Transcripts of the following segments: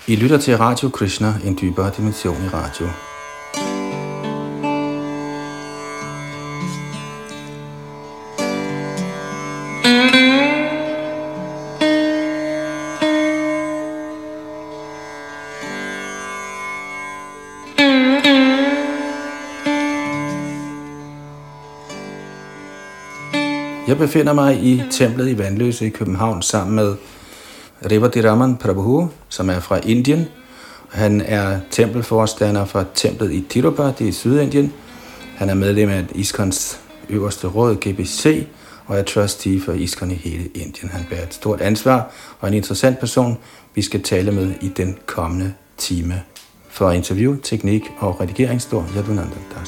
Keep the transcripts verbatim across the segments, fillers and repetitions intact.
I lytter til Radio Krishna, en dybere dimension i radio. Jeg befinder mig i templet i Vandløse i København sammen med Revati Raman Prabhu, som er fra Indien. Han er tempelforstander for templet i Tirupati i Sydindien. Han er medlem af ISKCONs øverste råd, G B C, og er trustee for ISKCON i hele Indien. Han bærer et stort ansvar og en interessant person, vi skal tale med i den kommende time. For interview, teknik og redigering står Yadunanda Das.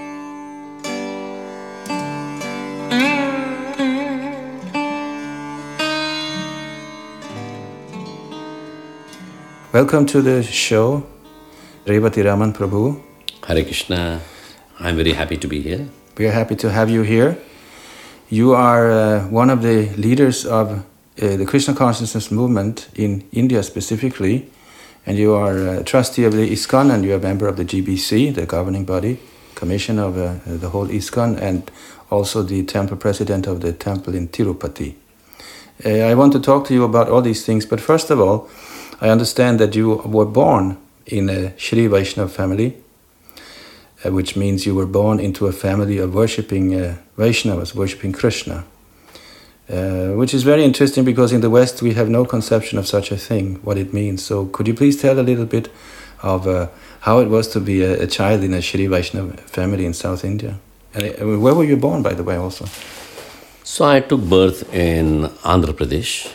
Welcome to the show, Revati Raman Prabhu. Hare Krishna. I'm very happy to be here. We are happy to have you here. You are uh, one of the leaders of uh, the Krishna consciousness movement in India specifically, and you are a trustee of the ISKCON, and you are a member of the G B C, the governing body, commission of uh, the whole ISKCON, and also the temple president of the temple in Tirupati. Uh, I want to talk to you about all these things, but first of all, I understand that you were born in a Shri Vaishnava family, uh, which means you were born into a family of worshipping uh, Vaishnavas, worshipping Krishna, uh, which is very interesting because in the West we have no conception of such a thing, what it means. So could you please tell a little bit of uh, how it was to be a, a child in a Shri Vaishnava family in South India? And uh, where were you born, by the way, also? So I took birth in Andhra Pradesh,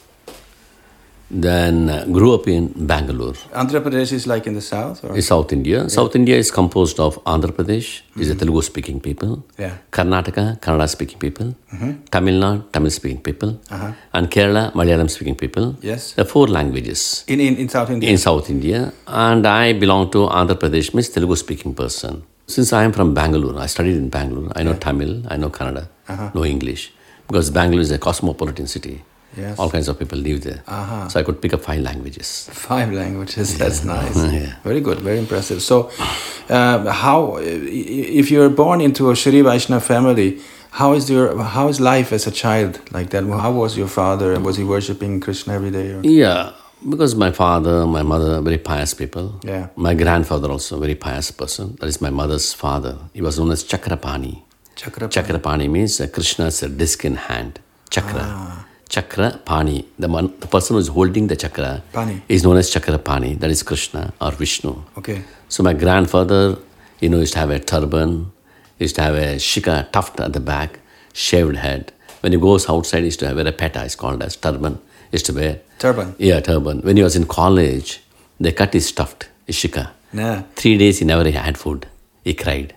then uh, grew up in Bangalore. Andhra Pradesh is like in the south? Or? In South India. Yeah. South India is composed of Andhra Pradesh, mm-hmm. is a Telugu speaking people, yeah. Karnataka, Kannada speaking people, mm-hmm. Tamil Nadu, Tamil speaking people, uh-huh. and Kerala, Malayalam speaking people. Yes. There are four languages. In, in, in South India? In South India. And I belong to Andhra Pradesh, means Telugu speaking person. Since I am from Bangalore, I studied in Bangalore, I know yeah. Tamil, I know Kannada, uh-huh. know English, because Bangalore is a cosmopolitan city. Yes. All kinds of people live there. Uh-huh. So I could pick up five languages. Five languages, yeah. That's nice. Yeah. Very good, very impressive. So, uh, how, if you're born into a Shri Vaishnava family, how is your how is life as a child like that? How was your father? Was he worshipping Krishna every day? Or? Yeah, because my father, my mother, very pious people. Yeah. My grandfather also, very pious person. That is my mother's father. He was known as Chakrapani. Chakrapani. Chakrapani means uh, Krishna's uh, disc in hand. Chakra. Ah. Chakra Pani, the, man, the person who is holding the chakra Pani. is known as Chakra Pani, that is Krishna or Vishnu. Okay. So my grandfather, you know, used to have a turban, used to have a shika tuft at the back, shaved head. When he goes outside, he used to wear a peta, it's called as turban. He used to wear. Turban? Yeah, turban. When he was in college, they cut his tuft, his shika. Nah. Three days he never had food. He cried.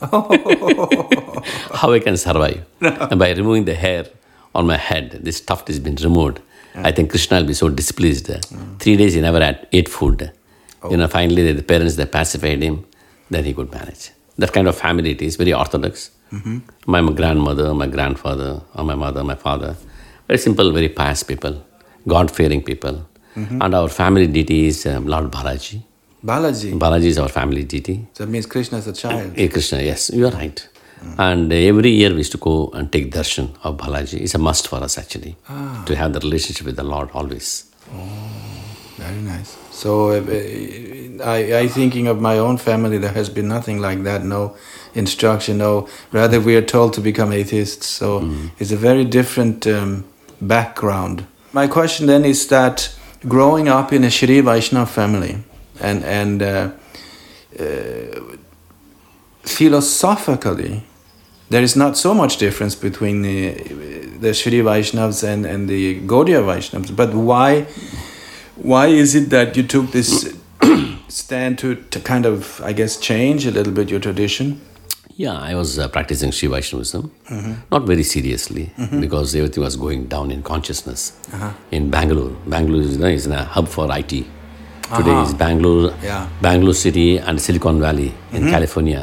How I can survive? No. And by removing the hair on my head, this tuft has been removed. Yeah. I think Krishna will be so displeased. Mm. Three days he never had ate food. Oh. You know, finally the parents, they pacified him, then he could manage. That kind of family it is, very orthodox. Mm-hmm. My grandmother, my grandfather, or my mother, my father, very simple, very pious people, God-fearing people. Mm-hmm. And our family deity is um, Lord Balaji. Balaji? Balaji is our family deity. So that means Krishna is a child. Yeah, Krishna, yes, you are right. Mm. And every year we used to go and take darshan of Balaji. It's a must for us actually, ah. to have the relationship with the Lord always. Oh, very nice. So uh, I, I thinking of my own family, there has been nothing like that, no instruction, no, rather we are told to become atheists. So mm. it's a very different um, background. My question then is that growing up in a Shri Vaishnava family and, and uh, uh, philosophically, there is not so much difference between the, the Shri Vaishnavas and, and the Gaudiya Vaishnavas. But why why is it that you took this stand to, to kind of, I guess, change a little bit your tradition? Yeah, I was uh, practicing Shri Vaishnavism, mm-hmm. not very seriously, mm-hmm. because everything was going down in consciousness. Uh-huh. In Bangalore, Bangalore is, you know, is a hub for I T. Today uh-huh. is Bangalore, yeah. Bangalore City and Silicon Valley in mm-hmm. California.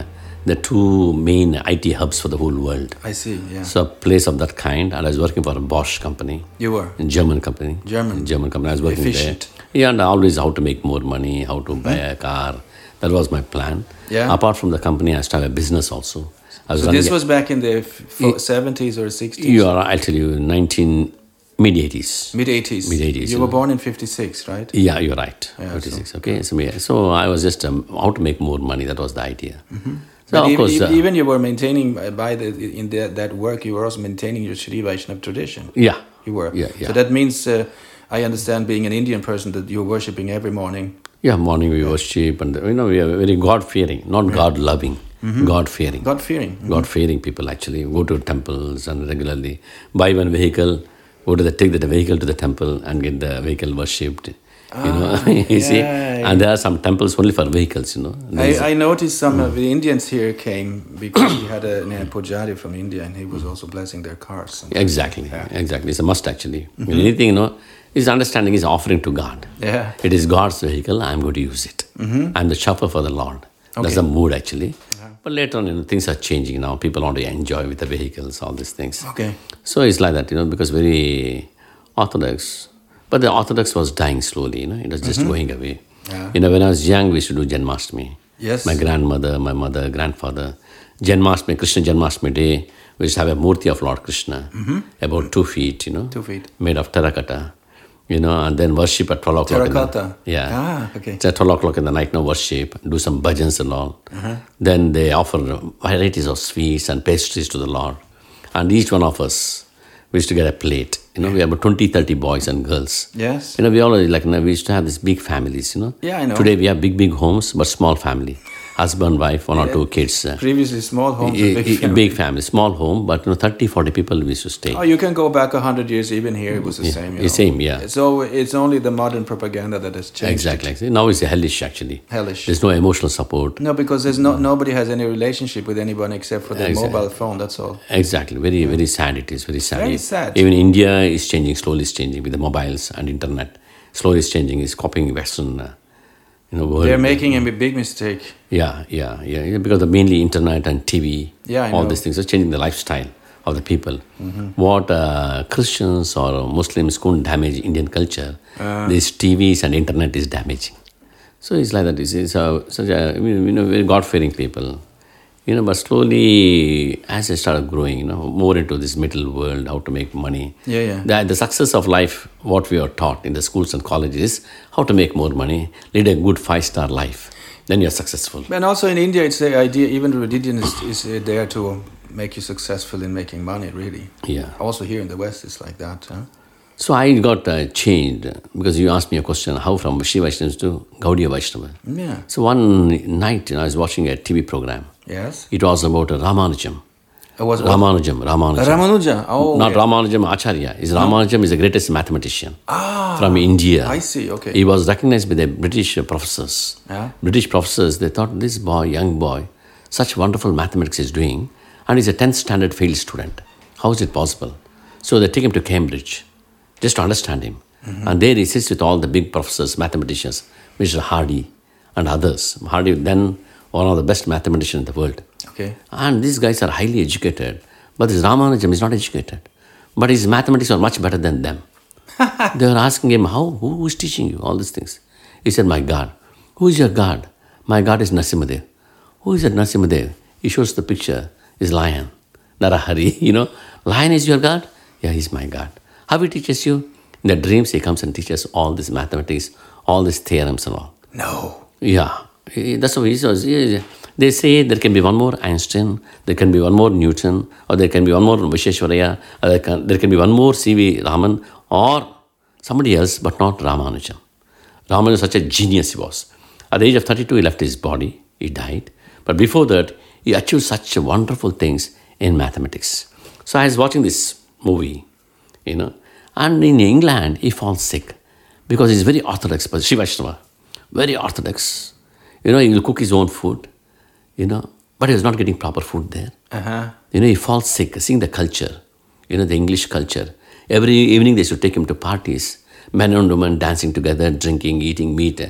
the two main I T hubs for the whole world. I see, yeah. So a place of that kind, and I was working for a Bosch company. You were? A German company. German. German company. I was working Efficient. there. Yeah, and always how to make more money, how to buy a car. That was my plan. Yeah. Apart from the company, I started a business also. I was So running this a- was back in the f- seventies or sixties? You are, I'll tell you, nineteen, mid-eighties. Mid-eighties. Mid-eighties, You you were know. born in fifty-six, right? Yeah, you're right. Yeah, fifty-six, okay. So, yeah, so I was just um, how to make more money. That was the idea. So But of even, course, uh, even you were maintaining, uh, by the in the, that work, you were also maintaining your Shri Vaishnava tradition. yeah, You were. Yeah, yeah. So that means, uh, I understand, being an Indian person, that you're worshipping every morning. yeah. Morning we worship, and you know we are very God fearing, not God loving, God fearing. God fearing. God fearing people actually go to temples and regularly buy one vehicle, go to the take the vehicle to the temple and get the vehicle worshipped. You know, you see, yeah, and there are some temples only for vehicles. You know, There's- I, I noticed some of the Indians here came because we had a, a pujari from India, and he was also blessing their cars. And exactly, exactly. It's a must actually. I mean, anything you know, his understanding is offering to God. Yeah. It is God's vehicle. I'm going to use it. I'm the chauffeur for the Lord. That's Okay. the mood actually. But later on, you know, things are changing now. People want to enjoy with the vehicles, all these things. Okay. So it's like that, you know, because very orthodox. But the orthodox was dying slowly, you know, it was just going away. Yeah. You know, when I was young, we used to do Janmashtami. Yes. My grandmother, my mother, grandfather. Janmashtami, Krishna Janmashtami day, we used to have a murti of Lord Krishna, about two feet, you know. Two feet. Made of terracotta. You know, and then worship at twelve o'clock. in the- Terracotta? yeah. Ah, okay. It's at twelve o'clock in the night, no worship, do some bhajans and all. Then they offer varieties of sweets and pastries to the Lord. And each one of us, we used to get a plate. You know, we have about twenty, thirty boys and girls. Yes. You know, we always, like, you know, we used to have these big families, you know. Yeah, I know. Today we have big, big homes, but small family. Husband, wife, one or two kids. uh, Previously, small homes, a- a big a- family. big family, small home, but you know, thirty, forty people we used to stay. Oh, you can go back a hundred years. Even here, it was the same. You the know. same, yeah. So it's only the modern propaganda that has changed. Exactly. exactly. Now it's hellish, actually. Hellish. There's no emotional support. No, because there's no nobody has any relationship with anyone except for their Exactly. mobile phone. That's all. Exactly. Very, very sad it is. Very sad. Very sad. Even India is changing, slowly is changing with the mobiles and internet. Slowly is changing, is copying Western, uh, you know, world. They're making a big mistake. Yeah, yeah, yeah, yeah. Because of mainly internet and T V. Yeah, I all know. these things are changing the lifestyle of the people. What uh, Christians or Muslims couldn't damage Indian culture, these T Vs and internet is damaging. So it's like that. It's, it's a, such a, you know, very God-fearing people. You know, but slowly, as I started growing, you know, more into this middle world, how to make money. Yeah, yeah. The, the success of life, what we are taught in the schools and colleges, is how to make more money, lead a good five-star life. Then you're successful. And also in India, it's the idea, even religion is, is uh, there to make you successful in making money, really. Yeah. Also here in the West, it's like that. Huh? So I got uh, changed because you asked me a question, how from Shiva Vaishnavas to Gaudiya Vaishnava. Yeah. So one night, you know, I was watching a T V program. Yes. It was about Ramanujam. It was Ramanujam, Ramanujam. Ramanuja. Oh, Not okay. Ramanujam Acharya. Is Ramanujam is the greatest mathematician from India. I see, okay. He was recognized by the British professors. Yeah. British professors, they thought this boy, young boy, such wonderful mathematics is doing, and he's a tenth standard failed student. How is it possible? So they take him to Cambridge just to understand him. And there he sits with all the big professors, mathematicians, Mister Hardy and others. Hardy, then one of the best mathematicians in the world. Okay. And these guys are highly educated. But this Ramanujam is not educated. But his mathematics are much better than them. They were asking him, how? Who is teaching you all these things? He said, my God. Who is your God? My God is Narasimhadev. Who is that Narasimhadev? He shows the picture, is lion. Narahari, you know. Lion is your God? Yeah, he's my God. How he teaches you? In the dreams, he comes and teaches all this mathematics, all these theorems and all. No. Yeah, he- that's how he says. Yeah, they say there can be one more Einstein, there can be one more Newton, or there can be one more Visheshwaraya, or there can, there can be one more C V Raman, or somebody else, but not Ramanujan. Ramanujan was such a genius he was. At the age of thirty-two, he left his body, he died. But before that, he achieved such wonderful things in mathematics. So I was watching this movie, you know, and in England, he falls sick because he's very orthodox, but Shiva Vaishnava, very orthodox. You know, he will cook his own food, you know, but he was not getting proper food there. Uh-huh. You know, he falls sick, seeing the culture, you know, the English culture. Every evening they should take him to parties, men and women dancing together, drinking, eating meat.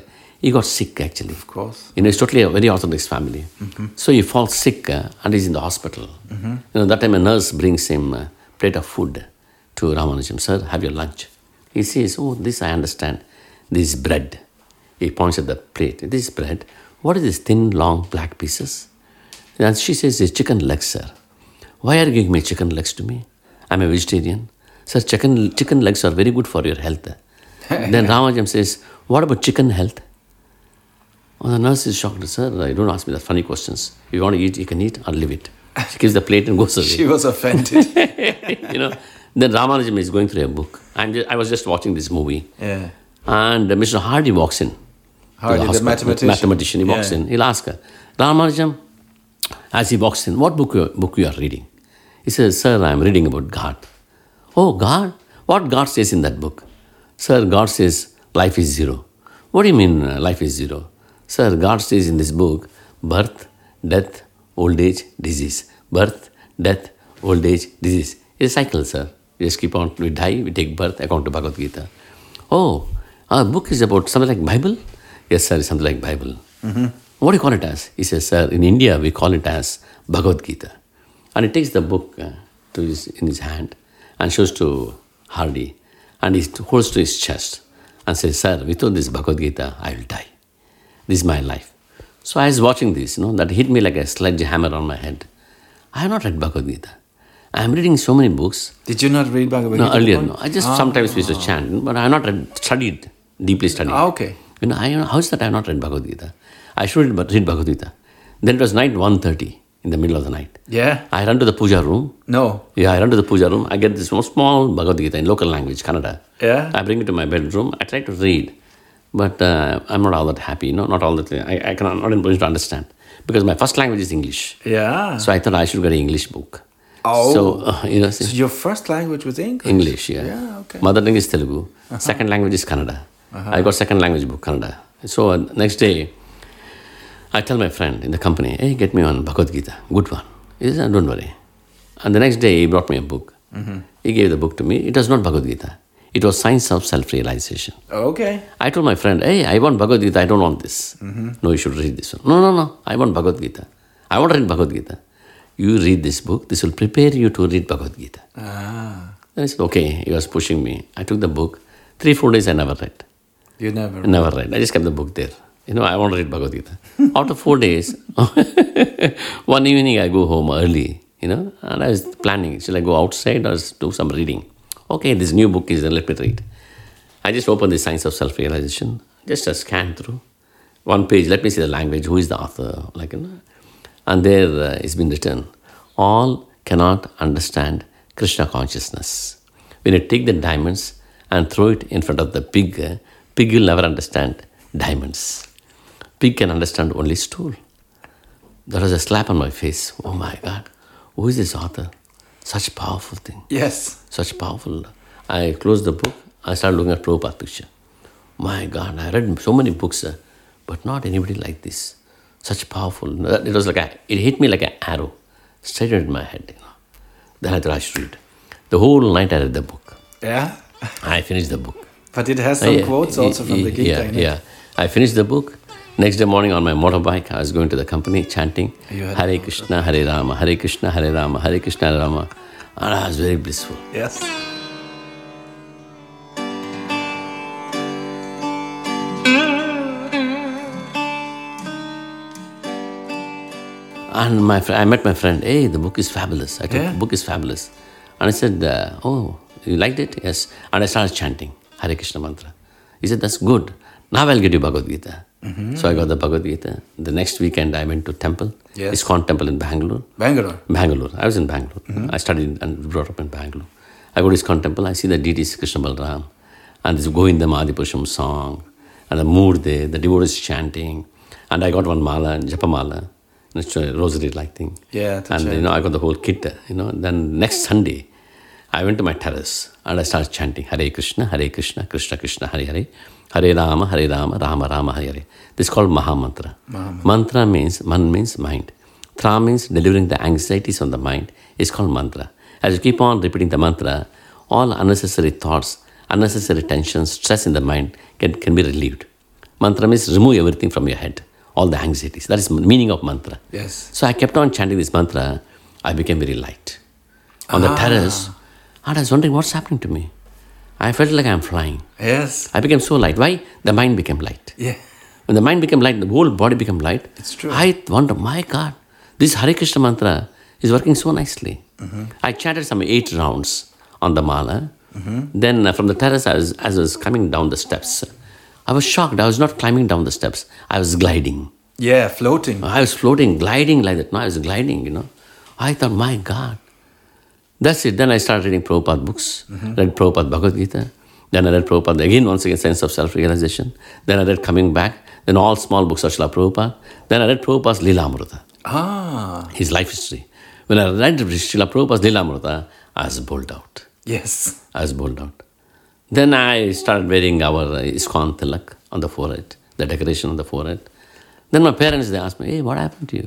he got sick actually. Of course. You know, it's totally a very Orthodox family. Mm-hmm. So he falls sick uh, and he's in the hospital. Mm-hmm. You know, that time a nurse brings him a plate of food to Ramanujam. Sir, have your lunch. He says, oh, this I understand. This is bread. He points at the plate. This is bread. What is this thin, long, black pieces? And she says, it's chicken legs, sir. Why are you giving me chicken legs to me? I'm a vegetarian. Sir, chicken, chicken legs are very good for your health. Then Ramanujam says, what about chicken health? Oh, the nurse is shocked. Sir, you don't ask me that funny questions. If you want to eat, you can eat or leave it. She gives the plate and goes away. She was offended. You know, then Ramanujam is going through a book. I'm just, I was just watching this movie. Yeah. And uh, Mister Hardy walks in. Hardy, the, the mathematician. mathematician. He walks yeah. in. He'll ask her, Ramanujam, as he walks in, what book you, book you are reading? He says, sir, I'm reading about God. Oh, God? What God says in that book? Sir, God says life is zero. What do you mean uh, life is zero? Sir, God says in this book, birth, death, old age, disease. Birth, death, old age, disease. It's a cycle, sir. We just keep on, we die, we take birth, according to Bhagavad Gita. Oh, our book is about something like Bible? Yes, sir, it's something like Bible. Mm-hmm. What do you call it as? He says, sir, in India, we call it as Bhagavad Gita. And he takes the book uh, to his, in his hand and shows to Hardy. And he holds to his chest and says, sir, without this Bhagavad Gita, I will die. This is my life. So I was watching this, you know, that hit me like a sledgehammer on my head. I have not read Bhagavad Gita. I am reading so many books. Did you not read Bhagavad Gita? No, earlier, no. I just ah. sometimes used to chant, but I have not read, studied, deeply studied. Ah, okay. You know, I, how is that I have not read Bhagavad Gita? I should read, read Bhagavad Gita. Then it was night one thirty, in the middle of the night. Yeah. I run to the puja room. No. Yeah, I run to the puja room. I get this small, small Bhagavad Gita in local language, Kannada. Yeah. I bring it to my bedroom. I try to read. But uh, I'm not all that happy, you know, not all that. I, I cannot, not in position to understand. Because my first language is English. Yeah. So I thought I should get an English book. Oh. So, uh, you know. See, so your first language was English? English, yeah. Yeah, okay. Mother tongue is Telugu. Uh-huh. Second language is Kannada. Uh-huh. I got second language book, Kannada. So uh, next day, I tell my friend in the company, hey, get me one Bhagavad Gita, good one. He says, don't worry. And the next day, he brought me a book. Mm-hmm. He gave the book to me. It was not Bhagavad Gita. It was Science of Self-Realization. Okay. I told my friend, hey, I want Bhagavad Gita, I don't want this. Mm-hmm. No, you should read this one. No, no, no, I want Bhagavad Gita. I want to read Bhagavad Gita. You read this book, this will prepare you to read Bhagavad Gita. Ah. Then I said, okay, he was pushing me. I took the book. Three, four days I never read. You never read? Never read. I just kept the book there. You know, I want to read Bhagavad Gita. After four days, one evening I go home early, you know, and I was planning, shall I go outside or do some reading? Okay, this new book is there, let me read. I just opened the Science of Self-Realization, just a scan through. One page, let me see the language, who is the author, like, you know. And there uh, it's been written, all cannot understand Krishna consciousness. When you take the diamonds and throw it in front of the pig, uh, pig will never understand diamonds. Pig can understand only stool. There was a slap on my face. Oh my God, who is this author? Such powerful thing. Yes. Such powerful. I closed the book. I started looking at Prabhupada's picture. My God, I read so many books, uh, but not anybody like this. Such powerful. It was like a, it hit me like an arrow, straight into my head. You know. Then I thought I should read. The whole night I read the book. Yeah. I finished the book. But it has some uh, yeah, quotes also from the Gita. Yeah, in it. yeah. I finished the book. Next day morning on my motorbike, I was going to the company chanting Hare Krishna, Hare Rama, Hare Krishna, Hare Rama, Hare Krishna, Hare Rama. And I was very blissful. Yes. And my fr- I met my friend, hey, the book is fabulous. I thought yeah. the book is fabulous. And I said, uh, oh, you liked it? Yes. And I started chanting Hare Krishna mantra. He said, that's good. Now I'll get you Bhagavad Gita. Mm-hmm. So I got the Bhagavad Gita. The next weekend I went to temple. Yes. ISKCON temple in Bangalore. Bangalore? Bangalore. I was in Bangalore. Mm-hmm. I studied and brought up in Bangalore. I go to ISKCON temple. I see the deities Krishna Balram. And this Govindam Adipurusham song. And the mood there. The devotees chanting. And I got one mala, japa mala. It's a rosary-like thing. Yeah. And, change. you know, I got the whole kit, you know. Then next Sunday, I went to my terrace and I started chanting Hare Krishna, Hare Krishna, Krishna Krishna, Hare Hare, Hare Rama, Hare Rama, Rama Rama, Hare Hare. This is called Maha Mantra. Maha-mantra. Mantra means, man means mind. Tra means delivering the anxieties on the mind. It's called mantra. As you keep on repeating the mantra, all unnecessary thoughts, unnecessary tensions, stress in the mind can, can be relieved. Mantra means remove everything from your head, all the anxieties. That is the meaning of mantra. Yes. So I kept on chanting this mantra. I became very light. On the Ah. terrace, and I was wondering what's happening to me. I felt like I'm flying. Yes. I became so light. Why? The mind became light. Yeah. When the mind became light, the whole body became light. It's true. I wonder, my God, this Hare Krishna mantra is working so nicely. Mm-hmm. I chanted some eight rounds on the mala. Mm-hmm. Then uh, from the terrace, I was, as I was coming down the steps, I was shocked. I was not climbing down the steps. I was gliding. Yeah, floating. I was floating, gliding like that. No, I was gliding, you know. I thought, my God. That's it. Then I started reading Prabhupada books. Mm-hmm. Read Prabhupada Bhagavad Gita. Then I read Prabhupada again, once again, Sense of Self-Realization. Then I read Coming Back. Then all small books of Srila Prabhupada. Then I read Prabhupada's Lila Amrita. Ah. His life history. When I read Srila Prabhupada's Lila Amrita, I was bowled out. Yes. I was bowled out. Then I started wearing our uh, ISKCON tilak on the forehead, the decoration on the forehead. Then my parents, they asked me, hey, what happened to you?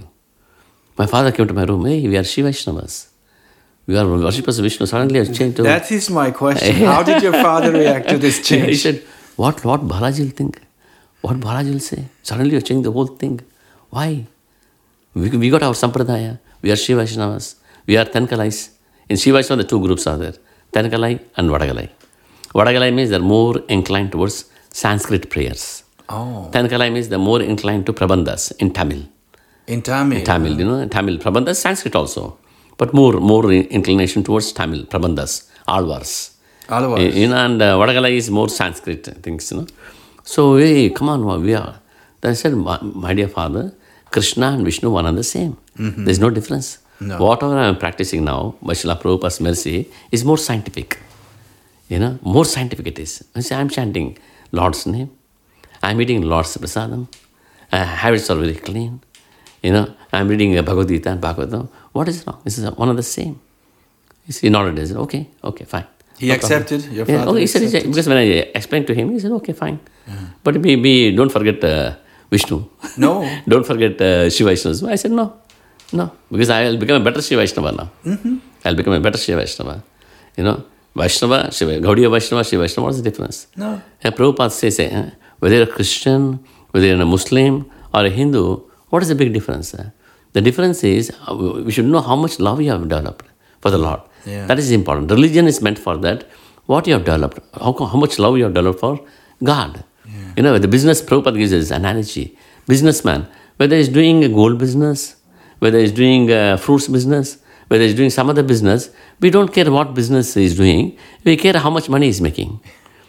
My father came to my room, hey, we are Shiva Vaishnavas. We are worshippers of Vishnu. Suddenly I changed to... That is my question. How did your father react to this change? He said, what, what Balaji will think? What Balaji will say? Suddenly you changed the whole thing. Why? We, we got our Sampradaya. We are Shiva Vaishnavas. We are Tenkalais. In Shiva Vaishnava, the two groups are there. Tenkalai and Vadagalai. Vadagalai means they're more inclined towards Sanskrit prayers. Oh. Tenkalai means they're more inclined to Prabandhas in Tamil. In Tamil. In Tamil, you know, Tamil. Prabandhas, Sanskrit also. But more more inclination towards Tamil, Prabandhas, Alvars. Alvars. You know, and uh, Vadagalai is more Sanskrit things, you know. So, hey, come on, we are. Then I said, my, my dear father, Krishna and Vishnu, one and the same. Mm-hmm. There's no difference. No. Whatever I'm practicing now, by Srila Prabhupada's mercy, is more scientific. You know, more scientific it is. I say, I'm chanting Lord's name. I'm eating Lord's prasadam. Uh, habits are very clean. You know, I'm reading uh, Bhagavad Gita and Bhagavatam. What is wrong? This is one and the same. He said, nodded. He said, okay, okay, fine. He no accepted? Problem. Your yeah, father okay, he said, he said, accepted? because when I explained to him, he said, okay, fine. Yeah. But we, we don't forget uh, Vishnu. No. Don't forget uh, Shiva Vaishnavas. I said, no, no, because I will become a better Shiva Vaishnava now. Mm-hmm. I'll become a better Shiva Vaishnava. You know, Vaishnava, Shiva, Gaudiya Vaishnava, Shiva Vaishnava, what's the difference? No. And Prabhupada says, eh, whether you're a Christian, whether you're a Muslim or a Hindu, what is the big difference? Eh? The difference is, uh, we should know how much love you have developed for the Lord. Yeah. That is important. Religion is meant for that. What you have developed, how, how much love you have developed for God. Yeah. You know, the business, Prabhupada gives us an analogy. Businessman, whether he's doing a gold business, whether he's doing a fruits business, whether he's doing some other business, we don't care what business he's doing. We care how much money he's making.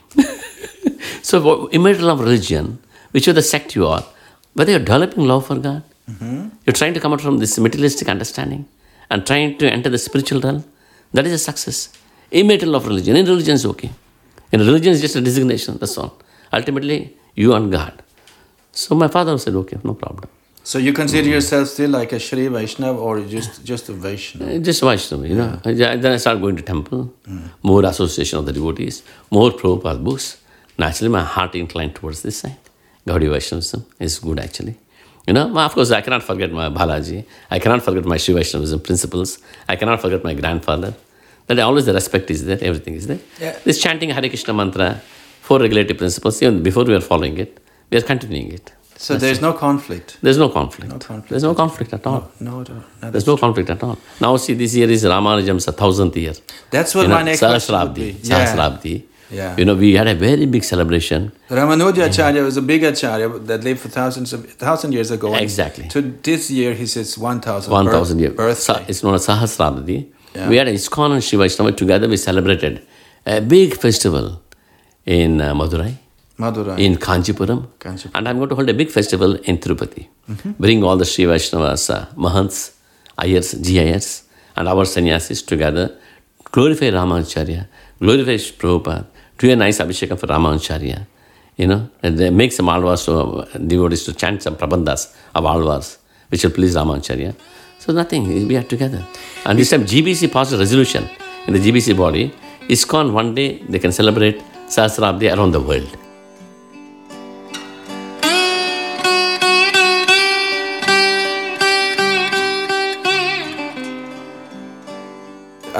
So, immaterial of religion, whichever the sect you are, whether you're developing love for God, mm-hmm. you're trying to come out from this materialistic understanding and trying to enter the spiritual realm, that is a success. Immaterial of religion. In religion is okay. In religion is just a designation, that's all. Ultimately, you and God. So my father said, okay, no problem. So you consider mm. yourself still like a Shri Vaishnava or just, just a Vaishnava? Just Vaishnava, you know. Yeah. Then I started going to temple, mm. more association of the devotees, more Prabhupada books. Naturally, my heart inclined towards this side. Gaudiya Vaishnavism is good actually. You know, of course, I cannot forget my Balaji. I cannot forget my Shiva Vaishnavism principles. I cannot forget my grandfather. That always the respect is there, everything is there. Yeah. This chanting Hare Krishna mantra, four regulative principles, even before we are following it, we are continuing it. So That's there's it. no conflict? There's no conflict. No conflict. There's no conflict at all. No, no, no, no There's no conflict at all. Now see, this year is Ramanujam's thousandth year. That's what you my know, next question would be. Sahasrabdi. Yeah. You know, we had a very big celebration. Ramanuja Acharya was a big Acharya that lived for thousands of thousand years ago. Exactly. So this year he says one thousand. One thousand years. Birthday. It's known as Sahasrabdi. Yeah. We had ISKCON and Shiva Vaishnava together. We celebrated a big festival in uh, Madurai, Madurai, in Kanchipuram, Kanchipuram, and I'm going to hold a big festival in Tirupati. Mm-hmm. Bring all the Shiva Vaishnavas, uh, Mahants, Ayers, G I S, and our sannyasis together. Glorify Ramanujacharya, glorify Prabhupada, do a nice abhishekam for Ramanujacharya. You know, and they make some alvars, so devotees to chant some prabandhas of alvars, which will please Ramanujacharya. So nothing, we are together. And this time G B C passed a resolution in the G B C body, ISKCON one day they can celebrate Sahasrabdi around the world.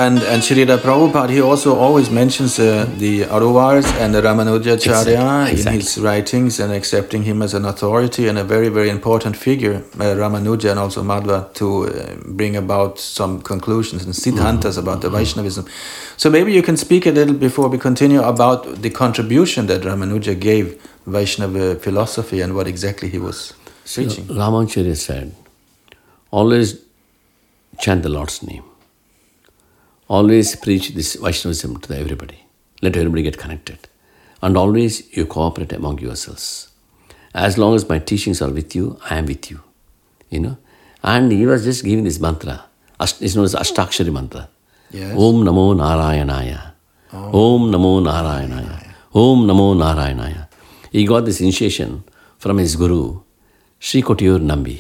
and, and Srila Prabhupada, he also always mentions uh, the Auruvars and the Ramanujacharya Exactly. Exactly. in his writings and accepting him as an authority and a very, very important figure, uh, Ramanuja and also Madhva, to uh, bring about some conclusions and siddhantas mm-hmm. about the Vaishnavism. So maybe you can speak a little before we continue about the contribution that Ramanuja gave Vaishnava philosophy and what exactly he was preaching. So, Ramacharya said, always chant the Lord's name. Always preach this Vaishnavism to everybody. Let everybody get connected. And always you cooperate among yourselves. As long as my teachings are with you, I am with you. You know? And he was just giving this mantra. It's known as Ashtakshari mantra. Yes. Om Namo Narayanaya. Oh. Om Namo Narayanaya. Om Namo Narayanaya. He got this initiation from his guru, Sri Kotiyur Nambi,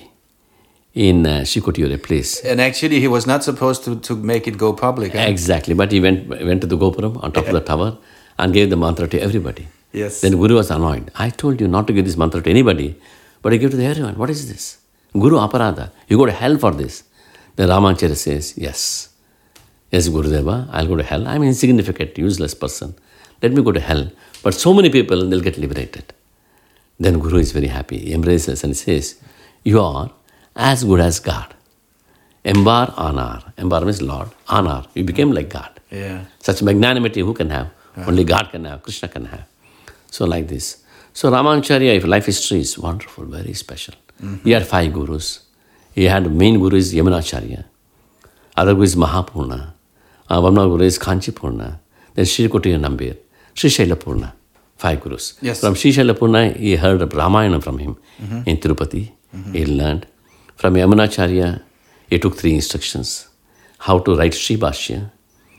in uh, Sri Kotiyur, a place. And actually he was not supposed to, to make it go public. Eh? Exactly, but he went went to the Gopuram on top of the tower and gave the mantra to everybody. Yes. Then Guru was annoyed. I told you not to give this mantra to anybody, but I give to everyone. What is this? Guru Aparada. You go to hell for this. Then Ramacharya says, yes. Yes, Gurudeva, I'll go to hell. I'm an insignificant, useless person. Let me go to hell. But so many people, they'll get liberated. Then Guru is very happy. He embraces and says, you are as good as God. Embar Anar. Embar means Lord. Anar. You became like God. Yeah. Such magnanimity who can have? Yeah. Only God can have. Krishna can have. So like this. So Ramacharya, life history is wonderful, very special. Mm-hmm. He had five gurus. He had main guru is Yamunacharya. Other guru is Mahapurna. Uh, one more guru is Kanchipurna. Then Sri Kotiyur Nambir. Sri Shailapurna. Five gurus. Yes. From Sri Shailapurna, he heard of Ramayana from him mm-hmm. in Tirupati. Mm-hmm. He learned. From Yamunacharya, he took three instructions. How to write Sri Bhashya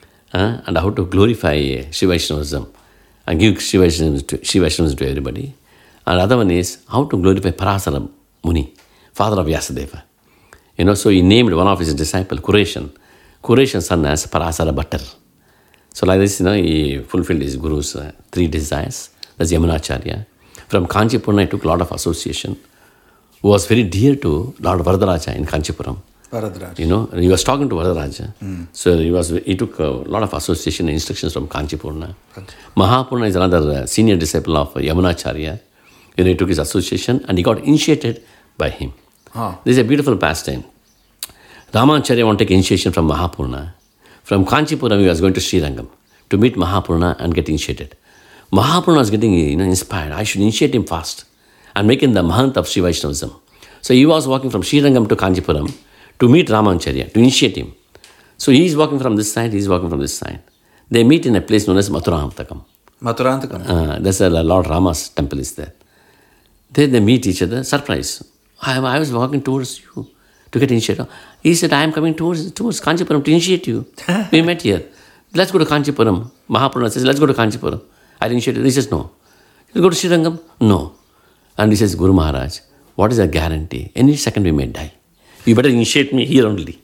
uh, and how to glorify Shiva Vaishnavism and give Shiva Vaishnavism to, Shiva Vaishnavism to everybody. And other one is how to glorify Parasara Muni, father of Vyasadeva. You know, so he named one of his disciples, Kureshan. Kureshan's son as Parasara Bhattar. So like this, you know, he fulfilled his guru's uh, three desires. That's Yamunacharya. From Kanchipurna, he took a lot of association. Who was very dear to Lord Varadaraja in Kanchipuram. Varadaraja. You know, he was talking to Varadaraja. Mm. So he was he took a lot of association and instructions from Kanchipurna. Right. Mahapurna is another uh, senior disciple of uh, Yamunacharya. You know, he took his association and he got initiated by him. Oh. This is a beautiful pastime. Ramacharya wanted to take initiation from Mahapurna. From Kanchipuram, he was going to Srirangam to meet Mahapurna and get initiated. Mahapurna was getting you know, inspired. I should initiate him fast and make him the Mahant of Sri Vaishnavism. So he was walking from Srirangam to Kanchipuram to meet Ramacharya, to initiate him. So he is walking from this side, he is walking from this side. They meet in a place known as Mathurantakam. Mathurantakam? Uh, there's a Lord Rama's temple is there. Then they meet each other, surprise. I, I was walking towards you to get initiated. He said, I am coming towards, towards Kanchipuram to initiate you. We met here. Let's go to Kanchipuram. Mahapurna says, let's go to Kanchipuram. I initiated. He says, no. You go to Srirangam? No. And he says, Guru Maharaj, what is the guarantee? Any second we may die. You better initiate me here only.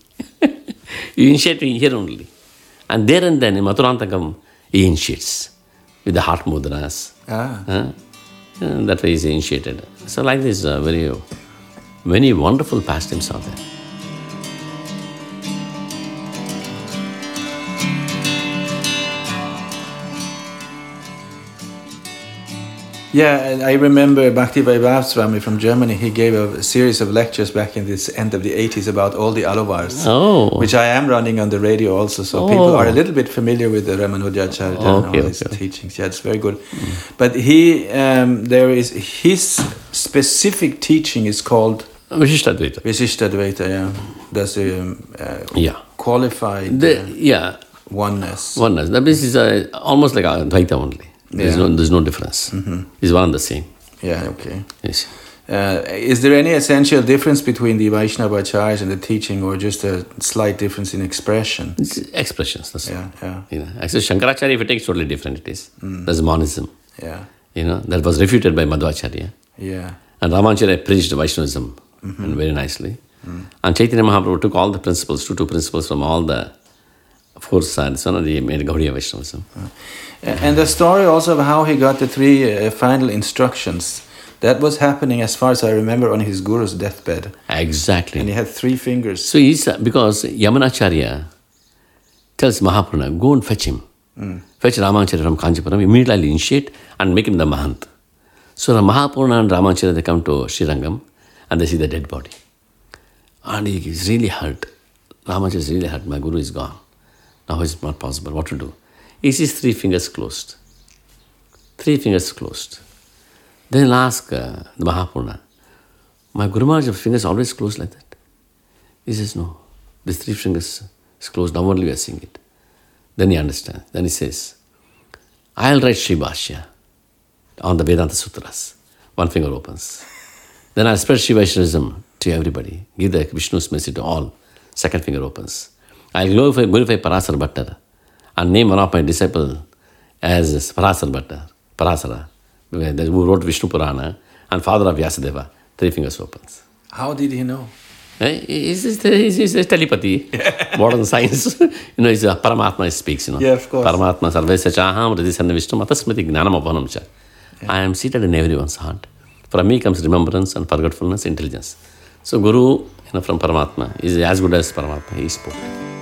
You initiate me here only. And there and then in Mathurantakam, he initiates with the heart mudras. Ah. Uh, that way he is initiated. So like this, uh, very, many wonderful pastimes are there. Yeah, I remember Bhakti Vaibhav Swami from Germany. He gave a series of lectures back in this end of the eighties about all the Alovars, oh. which I am running on the radio also. So oh. people are a little bit familiar with the Ramanujacharya okay, and all okay. his teachings. Yeah, it's very good. Mm. But he, um, there is his specific teaching is called Vishishtadvaita. Vishishtadvaita, yeah. That's a um, uh, yeah. qualified the, uh, yeah. oneness. Oneness. That means it's uh, almost like Advaita only. There's, yeah. no, there's no difference. Mm-hmm. It's one and the same. Yeah, okay. Yes. Uh, is there any essential difference between the Vaishnava acharyas and the teaching, or just a slight difference in expression? It's expressions. That's yeah, yeah. You know, actually, Shankaracharya, if it takes totally different, it is. Mm. That's monism. Yeah. You know, that was refuted by Madhvacharya. Yeah. And Ramacharya preached Vaishnavism mm-hmm. and very nicely. Mm. And Chaitanya Mahaprabhu took all the principles, two, two principles from all the four sides. So they made Gaudiya Vaishnavism. Uh. And the story also of how he got the three uh, final instructions, that was happening as far as I remember on his guru's deathbed. Exactly. And he had three fingers. So he's, because Yamunacharya tells Mahapurana, go and fetch him. Mm. Fetch Ramacharya from Kanchipuram, immediately initiate and make him the Mahant. So Mahapurana and Ramacharya, they come to Srirangam and they see the dead body. And he is really hurt. Ramacharya is really hurt. My Guru is gone. Now it's not possible. What to do? He sees three fingers closed. Three fingers closed. Then he'll ask uh, the Mahapurana, my Guru Maharaj's fingers always closed like that? He says, no. These three fingers is closed. Now only we are seeing it. Then he understands. Then he says, I'll write Sri Bhashya on the Vedanta Sutras. One finger opens. Then I'll spread Sri Vaishnavism to everybody. Give the Vishnu's message to all. Second finger opens. I'll glorify, glorify Parasara Bhattar and name one of my disciples as Parasara Bhattar, Parasara, who wrote Vishnu Purana and father of Vyasadeva. Three fingers opens. How did he know? It's, it's, it's, it's telepathy, modern science. You know, it's a Paramatma speaks, you know. Yeah, of course. Paramatma sarvesya chaham hridisana vishnu matasmriti gnanam abhanam cha. I am seated in everyone's heart. From me comes remembrance and forgetfulness, intelligence. So Guru, you know, from Paramatma is as good as Paramatma. He spoke.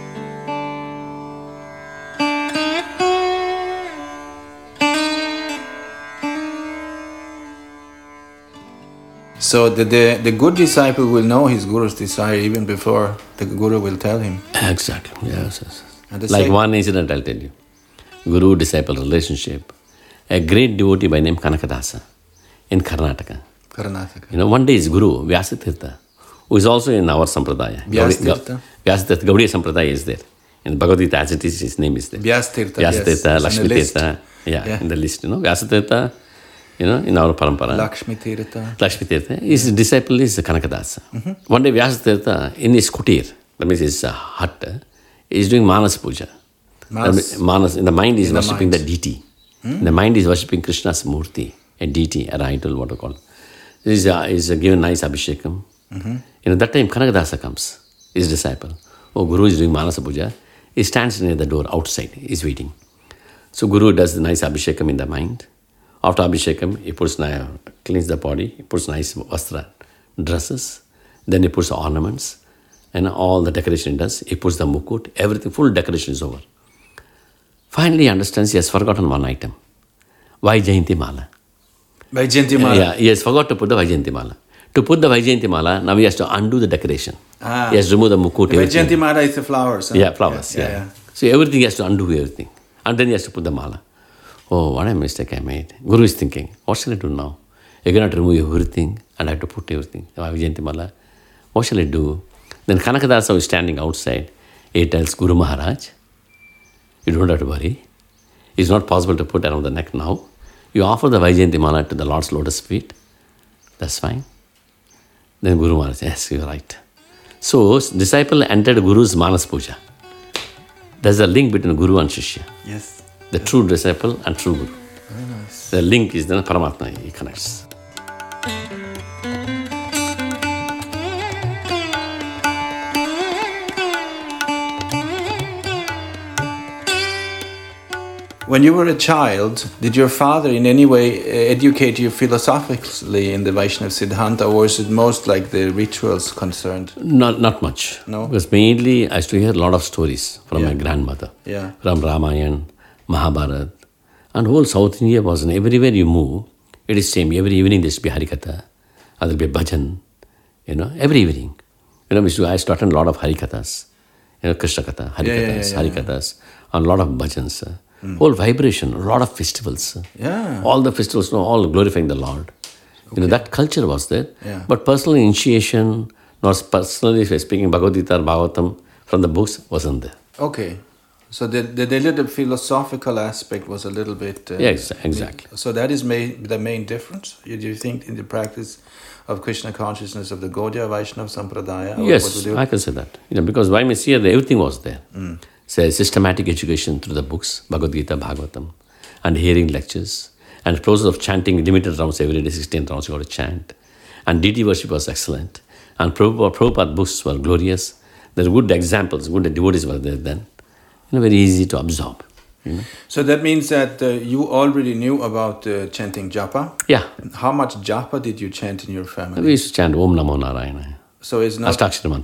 So the, the, the good disciple will know his Guru's desire even before the Guru will tell him. Exactly, yes, yes. And the Like same- one incident I'll tell you. Guru-disciple relationship. A great devotee by name Kanakadasa in Karnataka. Karnataka. You know, one day his Guru, Vyasatirtha, who is also in our Sampradaya. Vyasatirtha? Vyasatirtha, Gaudiya Sampradaya is there. In Bhagavad Gita as it is, his name is there. Vyastirtha, Vyasatirtha, yes. Lakshmi It's in the Tirtha. Yeah, Yeah. in the list, you know. Vyasatirtha, you know, in our parampara. Lakshmi Tirtha. Lakshmi Tirtha. His disciple is Kanakadasa. Mm-hmm. One day Vyasatirtha, in his kutir, that means his uh, hut, uh, is doing Manas Puja. Manas. That means Manas, in the mind is In the worshipping mind. the deity. Hmm? The mind is worshipping Krishna's Murti, a deity, an idol, what you call it. Is uh, is uh, given nice abhishekam. Mm-hmm. You know, that time Kanakadasa comes, his disciple. Oh, Guru is doing Manasa Puja. He stands near the door outside, he's waiting. So Guru does the nice abhishekam in the mind. After abhishekam, he puts, uh, cleans the body, he puts nice vastra, dresses, then he puts the ornaments, and all the decoration he does. He puts the mukut, everything, full decoration is over. Finally he understands he has forgotten one item. Vaijayanti Mala. Vaijayanti Mala. Yeah, he has forgot to put the Vaijayanti Mala. To put the Vaijayanti Mala, now he has to undo the decoration. Ah. He has to remove the mukut. The everything. Vaijayanti Mala is the flowers. Huh? Yeah, flowers. Yeah, Yeah, yeah. So everything he has to undo everything. And then he has to put the mala. Oh, what a mistake I made. Guru is thinking, what shall I do now? I cannot remove everything and I have to put everything. Vaijayanti Mala. What shall I do? Then Kanakadasa is standing outside. He tells Guru Maharaj, you don't have to worry. It's not possible to put around the neck now. You offer the Vaijayanti Mala to the Lord's lotus feet. That's fine. Then Guru Maharaj says, yes, you're right. So, disciple entered Guru's Manas Puja. There's a link between Guru and Shishya. Yes. The true disciple and true Guru. Very nice. The link is then Paramatma, he connects. When you were a child, did your father in any way uh, educate you philosophically in the Vaishnava Siddhanta, or was it most like the rituals concerned? Not not much. No? Because mainly I used to hear a lot of stories from Yeah. my grandmother. Yeah. From Ramayana, Mahabharata. And whole South India was, and everywhere you move, it is same. Every evening there should be Harikatha, or there will be bhajan, you know, every evening. You know, we used to, I used to attend a lot of Harikathas, you know, Krishna Katha, Harikathas, Yeah, yeah, yeah, yeah. Harikathas, and a lot of bhajans. uh, Whole vibration, a lot of festivals. uh, Yeah. All the festivals, you know, all glorifying the Lord. You know, that culture was there. Yeah. But personal initiation, not personally speaking Bhagavad Gita or Bhagavatam from the books, wasn't there. Okay. So the, the, the little philosophical aspect was a little bit... Uh, Yeah, ex- exactly. So that is main, the main difference, you- do you think, in the practice of Krishna consciousness of the Gaudiya Vaishnava Sampradaya? Or Yes, what would you- I can say that. You know, because why Messiah, everything was there. Mm. So systematic education through the books, Bhagavad Gita, Bhagavatam, and hearing lectures, and process of chanting limited rounds every day, sixteen rounds you got to chant. And deity worship was excellent. And Prabhupada, Prabhupada books were glorious. There were good examples, good devotees were there then. You know, very easy to absorb. You know? So that means that uh, you already knew about uh, chanting japa? Yeah. How much japa did you chant in your family? We used to chant Om Namo Narayana. So it's not... Ashtakshara mantra.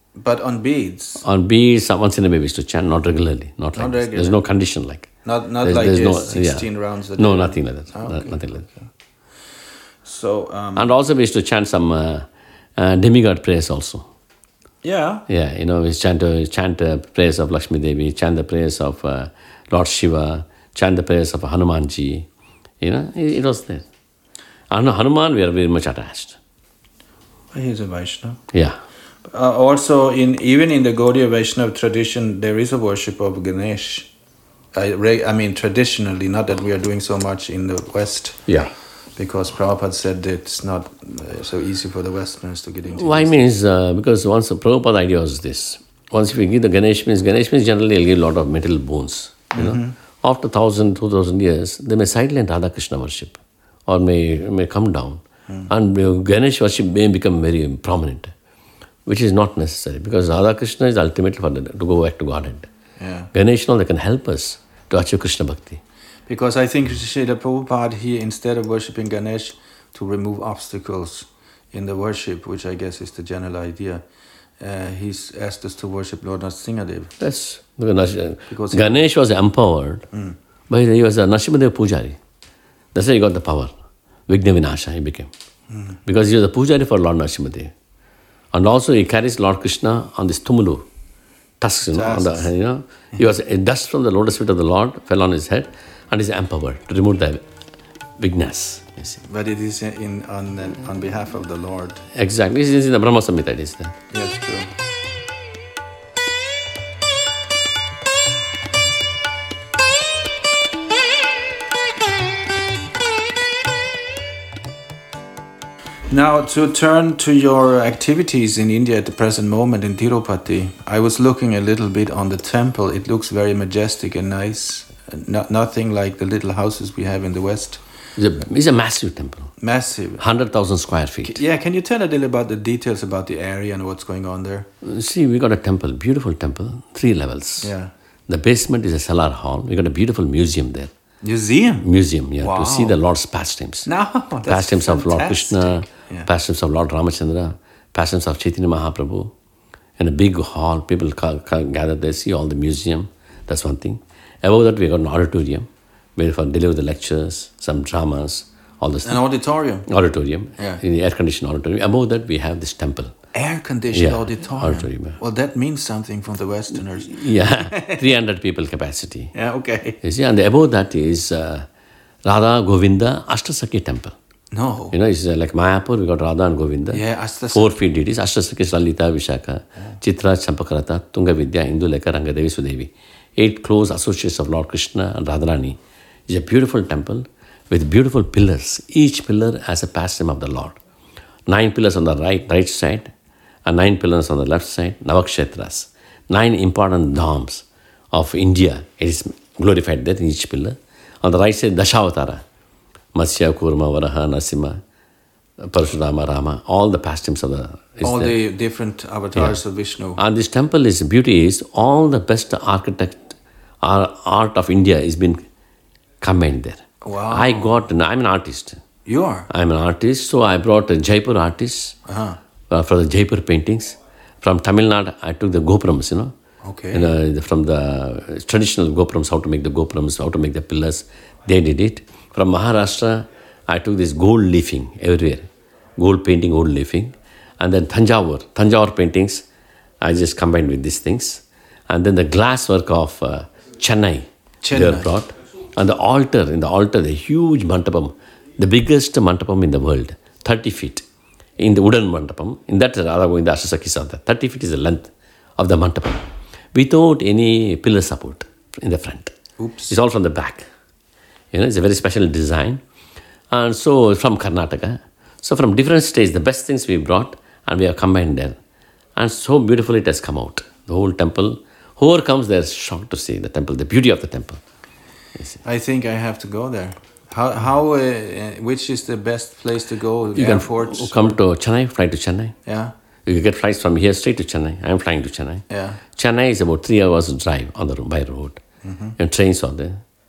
But on beads? On beads, once in a way we used to chant, not regularly. Not, like Not this. regularly. There's no condition like. Not not there's, like there's this, no, sixteen yeah. rounds a No, day? nothing like that. Oh, No, okay. nothing like that. So, um, And also we used to chant some uh, uh, demigod prayers also. yeah. Yeah, you know, we chant, uh, chant the prayers of Lakshmi Devi, chant the prayers of uh, Lord Shiva, chant the prayers of Hanumanji. You know, it, it was there. And Hanuman, we are very much attached. He's a Vaishnava. Yeah. Uh, also, in even in the Gaudiya Vaishnava tradition, there is a worship of Ganesh. I, re, I mean, traditionally, not that we are doing so much in the West. Yeah. Because Prabhupada said that it's not uh, so easy for the Westerners to get into. Why this. means, uh, because once the Prabhupada idea was this. Once if you give the Ganesh means, Ganesh means generally will give a lot of metal bones. You know, mm-hmm. After thousand, two thousand years, they may silence Radha Krishna worship, or may may come down, mm. and uh, Ganesh worship may become very prominent, which is not necessary because Radha Krishna is ultimately for the, to go back to Godhead. Yeah. Ganesh, now they can help us to achieve Krishna Bhakti. Because I think Srila Prabhupada, he, instead of worshipping Ganesh, to remove obstacles in the worship, which I guess is the general idea, uh, he's asked us to worship Lord Nrsimhadev. Yes, because, because Ganesh was empowered, mm. but he was a Nrsimhadev Pujari. That's why he got the power. Vigna Vinasha he became. Mm. Because he was a Pujari for Lord Nrsimhadev. And also he carries Lord Krishna on this tumulu, tusks, you know, on the, you know. He was, dust from the lotus feet of the Lord fell on his head, and is empowered to remove the vignas. But it is in on on behalf of the Lord. Exactly. This is in the Brahma Samhita. It is there. Yes, true. Now, to turn to your activities in India at the present moment in Tirupati, I was looking a little bit on the temple. It looks very majestic and nice. No, nothing like the little houses we have in the West. It's a, it's a massive temple. Massive. one hundred thousand square feet. Yeah, can you tell a little about the details about the area and what's going on there? See, we got a temple, beautiful temple, three levels. Yeah. The basement is a cellar hall. We got a beautiful museum there. Museum? Museum, yeah, wow. to see the Lord's pastimes. No, that's pastimes fantastic. of Lord Krishna, yeah. pastimes of Lord Ramachandra, pastimes of Chaitanya Mahaprabhu. In a big hall, people ca- ca- gather there, see all the museum. That's one thing. Above that, we got an auditorium where for deliver the lectures, some dramas, all this. An auditorium? Auditorium, yeah. In the air-conditioned auditorium. Above that, we have this temple. Air-conditioned yeah. auditorium? auditorium yeah. Well, that means something from the Westerners. Yeah, three hundred people capacity. Yeah, okay. You see, and above that is uh, Radha Govinda Ashtasakhi temple. No. You know, it's uh, like Mayapur, we got Radha and Govinda. Yeah, Ashtasakhi. Four feet deities, Ashtasakhi, Lalita, Vishaka, yeah. Chitra, Champakarata, Tunga Vidya, Induleka, Rangadevi, Sudevi. Eight close associates of Lord Krishna and Radharani. It's a beautiful temple with beautiful pillars. Each pillar has a pastime of the Lord. Nine pillars on the right, right side, and nine pillars on the left side, Navakshetras. Nine important dhams of India. It is glorified there in each pillar. On the right side, Dashavatara. Matsya, Kurma, Varaha, Nasima, Parashurama, Rama. All the pastimes of the... All there. the different avatars yeah. of Vishnu. And this temple is, beauty is, all the best architect, art of India is been combined there. Wow. I got, I'm an artist. You are? I'm an artist, so I brought a Jaipur artist uh-huh. uh, for the Jaipur paintings. From Tamil Nadu, I took the gopurams, you know. Okay. You know, from the traditional gopurams, how to make the gopurams, how to make the pillars, they did it. From Maharashtra, I took this gold leafing everywhere. Gold painting, gold leafing. And then Thanjavur, Thanjavur paintings, I just combined with these things. And then the glass work of uh, Chennai, Chennai, they were brought. And the altar, in the altar, the huge mantapam, the biggest mantapam in the world, thirty feet. In the wooden mantapam, in that Radha Govinda Ashtasakhi Santa, thirty feet is the length of the mantapam, without any pillar support in the front. Oops. It's all from the back. You know, it's a very special design. And so from Karnataka, so from different states, the best things we brought and we have combined there. And so beautifully it has come out. The whole temple, whoever comes there is shocked to see the temple, the beauty of the temple. I think I have to go there. How, how, uh, which is the best place to go? You Airports? can come to Chennai, fly to Chennai. Yeah. You can get flights from here straight to Chennai. I am flying to Chennai. Yeah. Chennai is about three hours drive on the by road. Mm-hmm. And trains are there.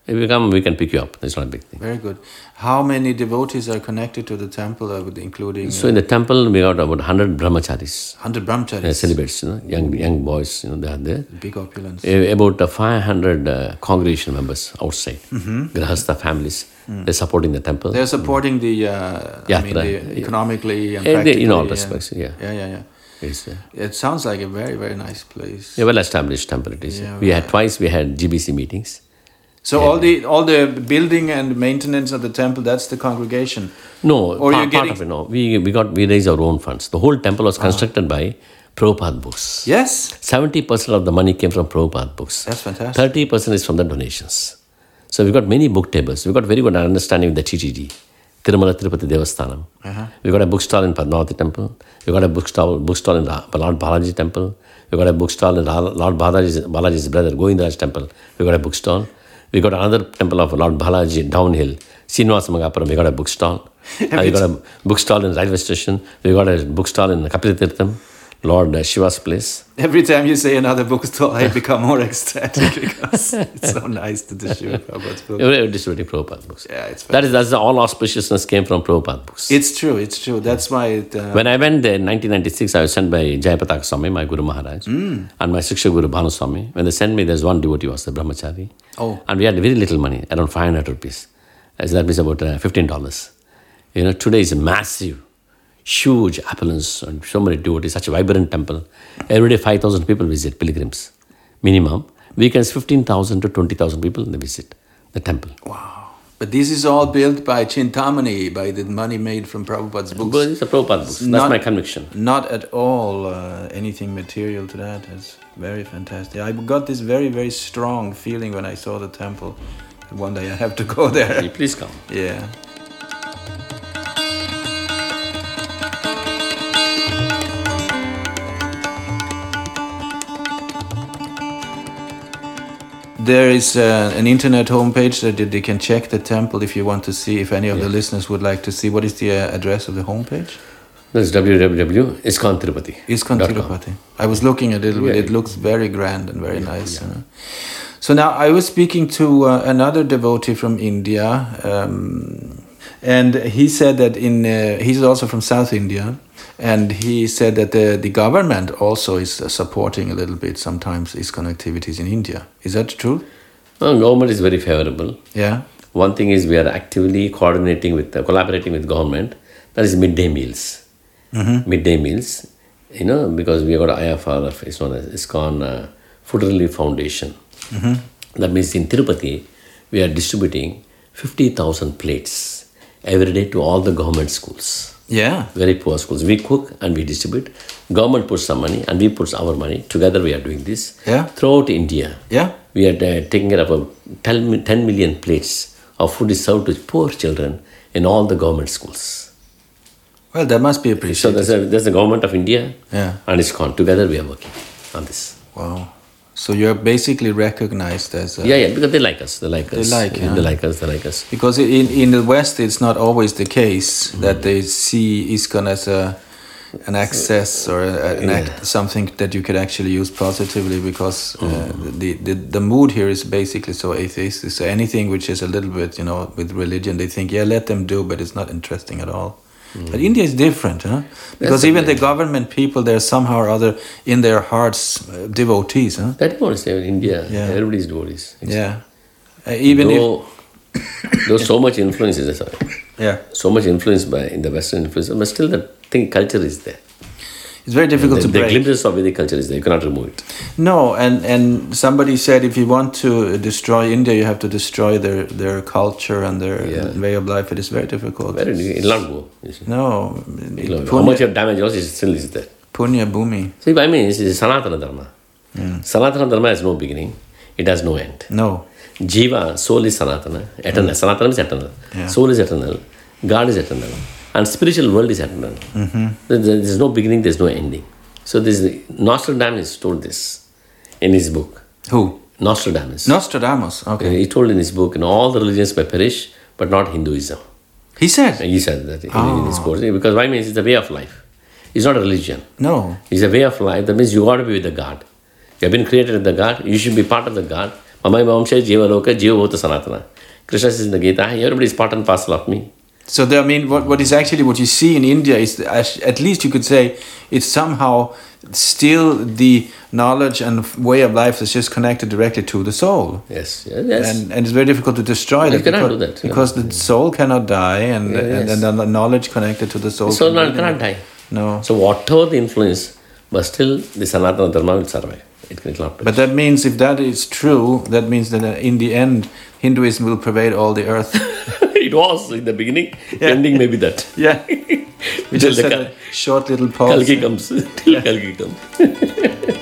If you come, we can pick you up. It's not a big thing. Very good. How many devotees are connected to the temple, uh, with- including So in the temple, we got about one hundred brahmacharis, one hundred brahmacharis? uh, celibates, you know, young young boys, you know, they are there. Big opulence. Uh, About uh, five hundred uh, congregation members outside, Grahastha families, they're supporting the temple. They're supporting the, uh, I mean, Yatra. the economically and Eh, they- practically. in all and- respects, yeah. Yeah, yeah, yeah. It's uh, It sounds like a very, very nice place. a well-established temple it is. Yeah, we had twice, we had G B C meetings. So all the all the building and maintenance of the temple, that's the congregation. No, Or pa- you're part getting- of it, no. We, we got, we raised our own funds. The whole temple was constructed by Prabhupada books. Yes, seventy percent of the money came from Prabhupada books. that's fantastic. thirty percent is from the donations. So we got many book tables. We got very good understanding of the T T D, Tirumala Tirupati Devasthanam. Uh-huh. We got a bookstall in Padmavati temple. We got a bookstall bookstall in Ra- Lord Balaji temple. We got a bookstall in Ra- Lord Balaji's, Balaji's brother Govindara's temple. We got a bookstall. We got another temple of Lord Balaji downhill, Srinivasa Magapuram. We got a bookstall. Uh, we got a bookstall in railway station. We got a bookstall in Kapiltirtham, Lord uh, Shiva's place. Every time you say another bookstall, I become more ecstatic because it's so nice to distribute Prabhupada's book. We were distributing Prabhupada books. Yeah, it's That is, that's the, all auspiciousness came from Prabhupada books. It's true, it's true. That's why it... Uh, When I went there in nineteen ninety-six, I was sent by Jayapataka Swami, my Guru Maharaj, and my Shiksha Guru Bhanu Swami. When they sent me, there's one devotee was the brahmachari. Oh. And we had very little money, around five hundred rupees. As that means about uh, fifteen dollars. You know, today is a massive, huge opulence and so many devotees, such a vibrant temple. Every day five thousand people visit, pilgrims, minimum. Weekends fifteen thousand to twenty thousand people, they visit the temple. Wow. But this is all built by Chintamani, by the money made from Prabhupada's books. But it's a Prabhupada books. That's Not- my conviction. Not at all uh, anything material to that. It's very fantastic. I got this very, very strong feeling when I saw the temple. One day I have to go there. Please come. Yeah. There is uh, an internet homepage that they can check the temple if you want to see, if any of the listeners would like to see. What is the uh, address of the homepage? That's w w w dot iskon tirupati. Iskon Tirupati. I was looking at it, Yeah. it looks very grand and very nice. Uh, so now I was speaking to uh, another devotee from India, um, and he said that in, uh, he's also from South India, and he said that the, the government also is uh, supporting a little bit sometimes Iskon activities in India. Is that true? Well, government is very favorable. Yeah. One thing is we are actively coordinating with, uh, collaborating with government. That is midday meals. Mm-hmm. Midday meals, you know, because we have got I F R, it's known as ISKCON uh, Food Relief Foundation. Mm-hmm. That means in Tirupati, we are distributing fifty thousand plates every day to all the government schools. Yeah. Very poor schools. We cook and we distribute. Government puts some money and we put our money. Together we are doing this. Yeah. Throughout India, Yeah. we are uh, taking care of uh, ten million plates of food is served to poor children in all the government schools. Well, that must be So appreciated. there's, a, there's the government of India Yeah. and ISKCON. Together we are working on this. Wow. So you're basically recognized as a... Yeah, yeah, because they like us. They like They us. like, yeah. They like us. They like us. Because in, in the West, it's not always the case that they see ISKCON as a an access or a, an act, something that you could actually use positively. Because uh, the, the the mood here is basically so atheistic. So anything which is a little bit, you know, with religion, they think, yeah, let them do, but it's not interesting at all. But India is different, huh? Because That's even the okay. government people, they're somehow or other in their hearts uh, devotees, huh? That was in India. Yeah. Everybody's devotees. It's- Yeah. Uh, even Though, there's so much influence, is there, if yeah. so much influence by in the Western influence, but still the thing culture is there. It's very difficult the, to the break. glimpses of Vedic culture is there. You cannot remove it. No, and, and somebody said if you want to destroy India, you have to destroy their, their culture and their Yeah. way of life. It is very difficult. Very, it will not go. You see. No, It will not go. How much Punya, of damage also is still is there. Punya Bhumi. See, I mean, this is Sanatana Dharma. Sanatana Dharma has no beginning. It has no end. No. Jiva, soul is Sanatana, eternal. Sanatana is eternal. Yeah. Soul is eternal. God is eternal. And spiritual world is eternal. Mm-hmm. There- There's no beginning, there's no ending. So this Nostradamus told this in his book. Who? Nostradamus. Nostradamus. Okay. He told in his book, in all the religions may perish, but not Hinduism. He said. He said that in, in his course. Because why means it's a way of life. It's not a religion. No. It's a way of life. That means you got to be with the God. You have been created with the God. You should be part of the God. Mamai Mamsha Jiva Loka Jiva Bhuta Sanatana. Krishna says in the Gita, everybody is part and parcel of me. So there, I mean, what, what is actually what you see in India is, at least you could say, it's somehow still the knowledge and way of life is just connected directly to the soul. Yes, yes. yes. And, and it's very difficult to destroy you that. cannot because, do that. Because know. the soul cannot die, and, Yeah, yes. and, and the knowledge connected to the soul. The soul can cannot die. No. So whatever the influence, but still the Sanatana Dharma will survive. It will not. But that means if that is true, that means that in the end, Hinduism will pervade all the earth. It was in the beginning. Yeah. Ending maybe that. Yeah. We just had a short little pause. Kalki comes. Till Yeah. Kalki comes.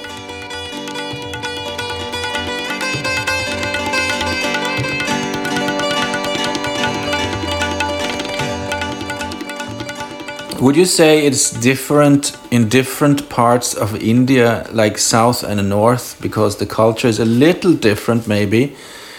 Would you say it's different in different parts of India, like south and north, because the culture is a little different maybe,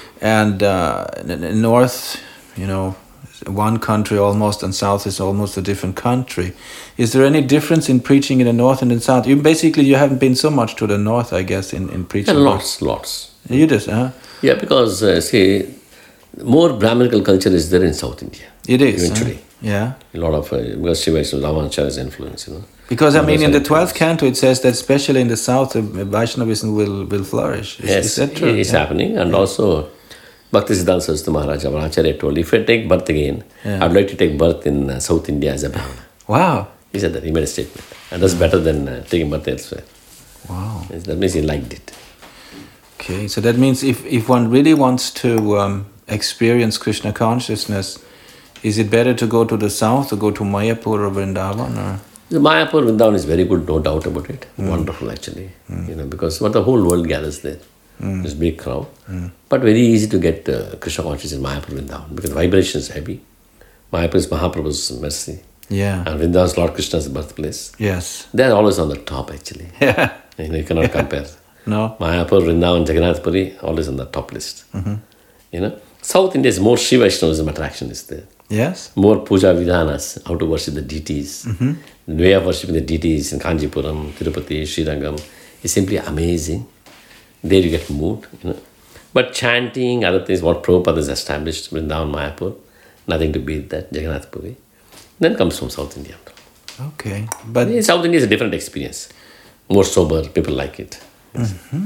and uh, in north, you know, one country almost, and south is almost a different country. Is there any difference in preaching in the north and in the south? You basically you haven't been so much to the north, I guess, in, in preaching. Yeah, lots, lots. You just, huh? Yeah, because uh, see, more Brahminical culture is there in South India. It is. Eventually. Huh? Yeah. A lot of, uh, because Shiva is Ramanacharya's influence, you know. Because, I mean, in the Others are twelfth canto, it says that especially in the south, uh, Vaishnavism will, will flourish. Is, Yes, is that true? it's Yeah. happening. And also, Bhakti Siddhanta Saraswati Maharaj, Ramanacharya told, if I take birth again, Yeah. I'd like to take birth in uh, South India as a Brahmana. Wow. He said that, he made a statement. And that's better than uh, taking birth elsewhere. Wow. Yes, that means he liked it. Okay, so that means if, if one really wants to um, experience Krishna consciousness, is it better to go to the south or go to Mayapur or Vrindavan? Or? The Mayapur Vrindavan is very good, no doubt about it. Mm. Wonderful, actually. Mm. You know, because what the whole world gathers there. Mm. This big crowd. Mm. But very easy to get uh, Krishna consciousness in Mayapur Vrindavan because the vibration is heavy. Mayapur is Mahaprabhu's mercy. Yeah. And Vrindavan is Lord Krishna's birthplace. Yes. They're always on the top, actually. Yeah. You know, you cannot compare. No. Mayapur, Vrindavan, Jagannath Puri, always on the top list. Mm-hmm. You know, South India is more Shiva Vaishnavism attraction is there. Yes. More puja vidhanas, how to worship the deities. Mm-hmm. The way of worshipping the deities in Kanjipuram, Tirupati, Srirangam is simply amazing. There you get moved, you know. But chanting, other things, what Prabhupada has established, Vrindavan, Mayapur, nothing to beat that, Jagannath Puri. Then comes from South India. Okay. But In South India is a different experience. More sober, people like it. Mm-hmm.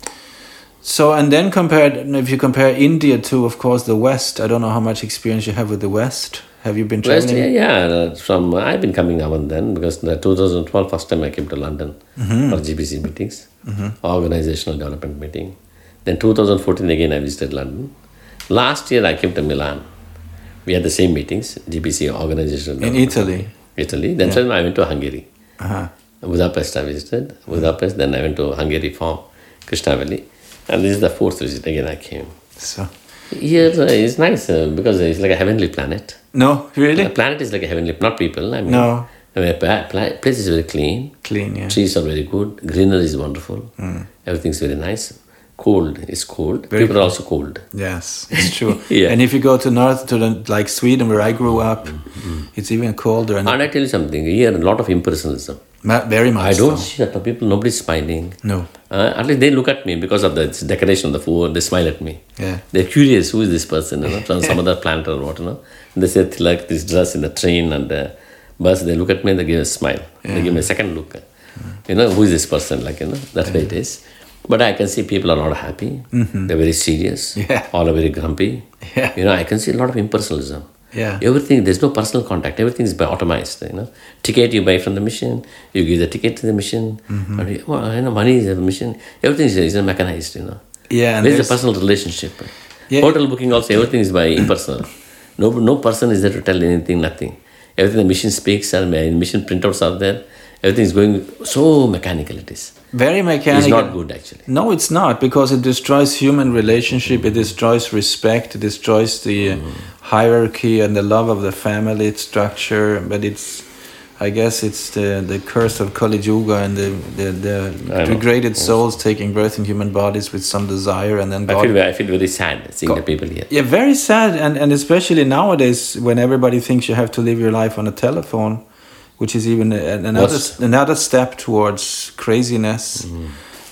So, and then compared, if you compare India to, of course, the West, I don't know how much experience you have with the West. Have you been traveling? West, yeah, yeah. uh, From uh, I've been coming now and then because in two thousand twelve, first time I came to London Mm-hmm. for G B C meetings, Mm-hmm. organizational development meeting. Then two thousand fourteen again I visited London. Last year I came to Milan. We had the same meetings, G B C organizational In development Italy? meeting. Italy. Then Yeah. I went to Hungary. Uh-huh. Budapest I visited. Budapest. Then I went to Hungary for Krishna Valley. And this is the fourth visit again I came. So, Here uh, it's nice uh, because it's like a heavenly planet. no, really? The planet is like a heavenly, not people. I mean, No. I mean, pla- pla- place is very clean. Clean, yeah. Trees are very good. Greenery is wonderful. Mm. Everything's very nice. Cold is cold. Very people are also cold. Yes, it's true. Yeah. And if you go to north, to the, like Sweden, where I grew up, it's even colder. And And I tell you something. Here a lot of impersonalism. ma- very much I don't so. see that the people. Nobody's smiling. No. Uh, at least they look at me because of the decoration of the food. They smile at me. Yeah. They're curious. Who is this person? You know, from some other planet or what? You know. And they say like this dress in the train and the bus. They look at me and they give a smile. They give me a second look. You know, who is this person? Like you know, that's why it is. But I can see people are not happy. Mm-hmm. They're very serious. Yeah. All are very grumpy. Yeah. You know, I can see a lot of impersonalism. Yeah. Everything, there's no personal contact. Everything is by automized. You know, ticket you buy from the machine. You give the ticket to the machine. Mm-hmm. And you, well, you know, money is a machine. Everything is, is mechanized. You know. Yeah. And Where's the there's- personal relationship? Yeah. Hotel booking also, everything is by impersonal. No, no person is there to tell anything. Nothing. Everything the machine speaks and the machine printouts are there. Everything is going so mechanical. It is. Very mechanical. It's not good actually. No, it's not, because it destroys human relationship, it destroys respect, it destroys the uh, hierarchy and the love of the family structure, but it's, I guess it's the, the curse of Kali Yuga and the, the, the I know. degraded souls taking birth in human bodies with some desire, and then I God... feel, I feel very sad seeing God- the people here. Yeah, very sad, and, and especially nowadays when everybody thinks you have to live your life on a telephone, which is even a- another What's- another step towards craziness. Mm.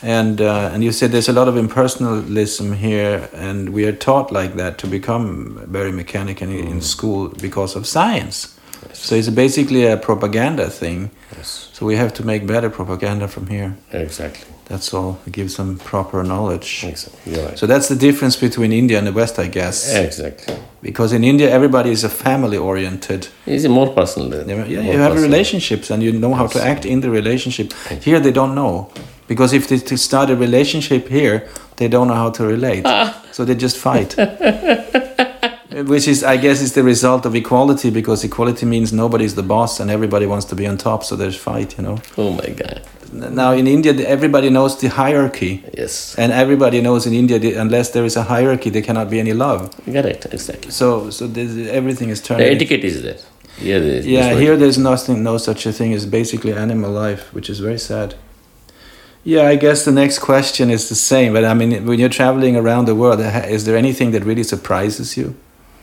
And uh, and you said there's a lot of impersonalism here, and we are taught like that to become very mechanical in, mm. in school because of science. Yes. So it's basically a propaganda thing. Yes. So we have to make better propaganda from here. Exactly. That's all. Give some proper knowledge. Exactly. You're right. So that's the difference between India and the West, I guess. Exactly. Because in India, everybody is a family-oriented. It's more personal. Yeah, more you have personal. relationships, and you know how yes. to act in the relationship. Here, they don't know. Because if they to start a relationship here, they don't know how to relate. Ah. So they just fight. Which is, I guess, is the result of equality, because equality means nobody's the boss and everybody wants to be on top, so there's fight, you know. Oh my God. Now in India, everybody knows the hierarchy. Yes. And everybody knows in India, unless there is a hierarchy, there cannot be any love. Correct, exactly. So so everything is turned... The etiquette is there. Yeah, there's, yeah there's here there's nothing, no such a thing. It's basically animal life, which is very sad. Yeah, I guess the next question is the same. But I mean, when you're traveling around the world, is there anything that really surprises you?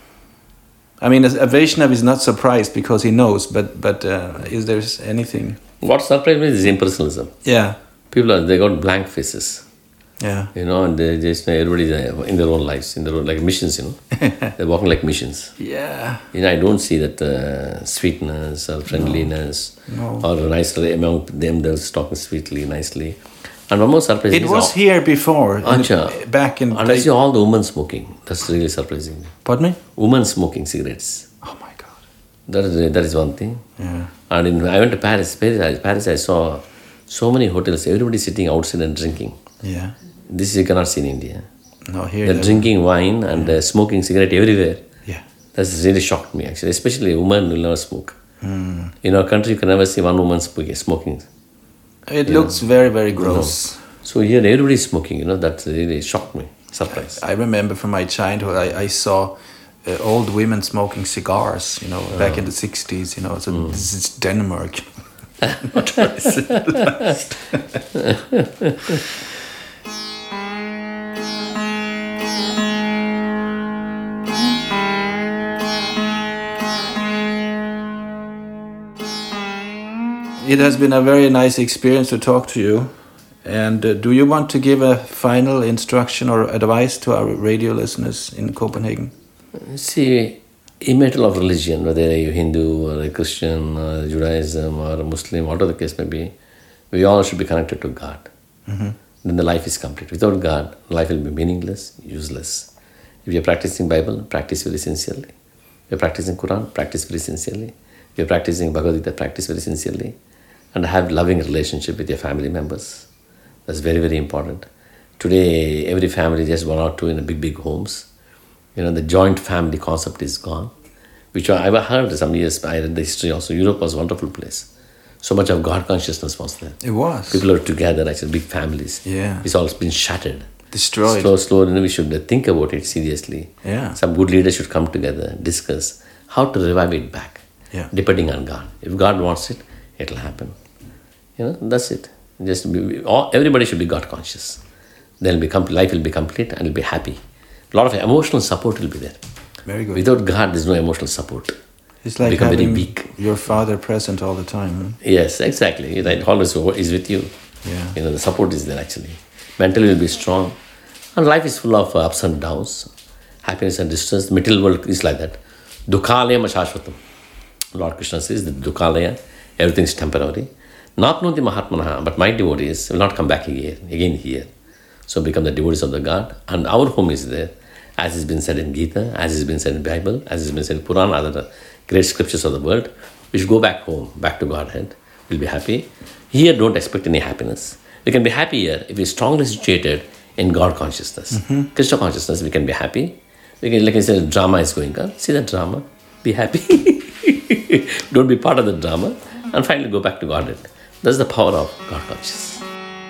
I mean, a Vaishnav is not surprised because he knows, but but uh, is there anything? What surprised me is impersonalism. Yeah. People are, they got blank faces. Yeah. You know, and they just, everybody's in their own lives, in their own, like missions, you know. They're walking like missions. Yeah. You know, I don't see that uh, sweetness or friendliness no. No. or nicely among them, they're talking sweetly, nicely. And one more surprising. It was all, here before, Ancha, in, back in... And I see all the women smoking. That's really surprising. Pardon me? Women smoking cigarettes. Oh my God. That is, that is one thing. Yeah. And in, I went to Paris. Paris, Paris, I saw so many hotels, everybody sitting outside and drinking. Yeah. This you cannot see in India. No, here... They're drinking wine and yeah. uh, smoking cigarette everywhere. Yeah. That's really shocked me, actually. Especially women will never smoke. Mm. In our country, you can never see one woman smoking. It you looks know. very, very gross. No. So here, everybody is smoking, you know, that really shocked me. Surprise. I, I remember from my childhood, I, I saw uh, old women smoking cigars, you know, oh. back in the sixties, you know, so mm. this is Denmark. Not very civilized. It has been a very nice experience to talk to you. And uh, do you want to give a final instruction or advice to our radio listeners in Copenhagen? See, immaterial of religion, whether you're Hindu or a Christian or Judaism or a Muslim, whatever the case may be, we all should be connected to God. Mm-hmm. Then the life is complete. Without God, life will be meaningless, useless. If you're practicing Bible, practice very sincerely. If you're practicing Quran, practice very sincerely. If you're practicing Bhagavad Gita, practice very sincerely. And have loving relationship with your family members. That's very, very important. Today, every family just one or two in a big, big homes. You know, the joint family concept is gone. Which I ever heard some years, I read the history also. Europe was a wonderful place. So much of God consciousness was there. It was. People are together, actually, big families. Yeah. It's all been shattered. Destroyed. Slow, slow, and we should think about it seriously. Yeah. Some good leaders should come together, discuss how to revive it back. Yeah. Depending on God. If God wants it, it'll happen. You know, that's it. Just be, all, everybody should be God conscious. Then will be life will be complete and will be happy. A lot of emotional support will be there. Very good. Without God, there's no emotional support. It's like become having very weak. Your father present all the time. Huh? Yes, exactly. Right. Always is with you. Yeah. You know, the support is there actually. Mentally will be strong. And life is full of ups and downs. Happiness and distress. The material world is like that. Dukhalaya mashashvatam. Lord Krishna says that Dukhalaya, everything is temporary. Not knowing the Mahatmanaha, but my devotees will not come back again, again here. So become the devotees of the God. And our home is there. As has been said in Gita, as has been said in Bible, as has been said in Puran, other great scriptures of the world. We should go back home, back to Godhead. We'll be happy. Here, don't expect any happiness. We can be happy here if we're strongly situated in God consciousness. Mm-hmm. Krishna consciousness, we can be happy. We can, like I said, drama is going on. See that drama. Be happy. Don't be part of the drama. And finally go back to Godhead. That's the power of God consciousness.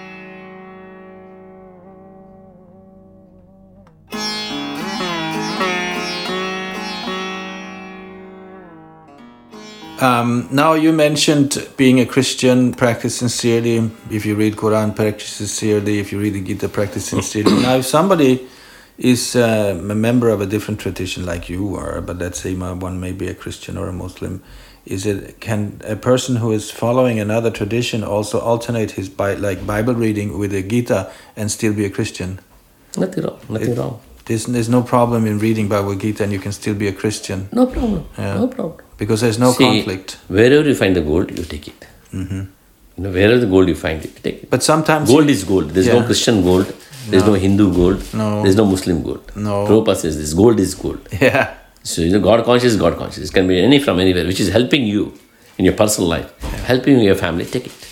Um, now you mentioned being a Christian, practice sincerely. If you read Quran, practice sincerely. If you read the Gita, practice sincerely. Now if somebody is uh, a member of a different tradition like you are, but let's say one may be a Christian or a Muslim, is it can a person who is following another tradition also alternate his bi- like Bible reading with the Gita and still be a Christian? Nothing wrong. Nothing It- wrong. There's, there's no problem in reading Bhagavad Gita and you can still be a Christian. No problem. Yeah. No problem. Because there's no See, conflict. Wherever you find the gold, you take it. Mm-hmm. You know, wherever the gold you find it, you take it. But sometimes Gold is gold. There's no Yeah. Christian gold. There's no, No. Hindu gold. No. There's no Muslim gold. No. Prabhupada says this gold is gold. yeah. So you know, God conscious is God conscious. It can be any from anywhere, which is helping you in your personal life, helping your family. Take it.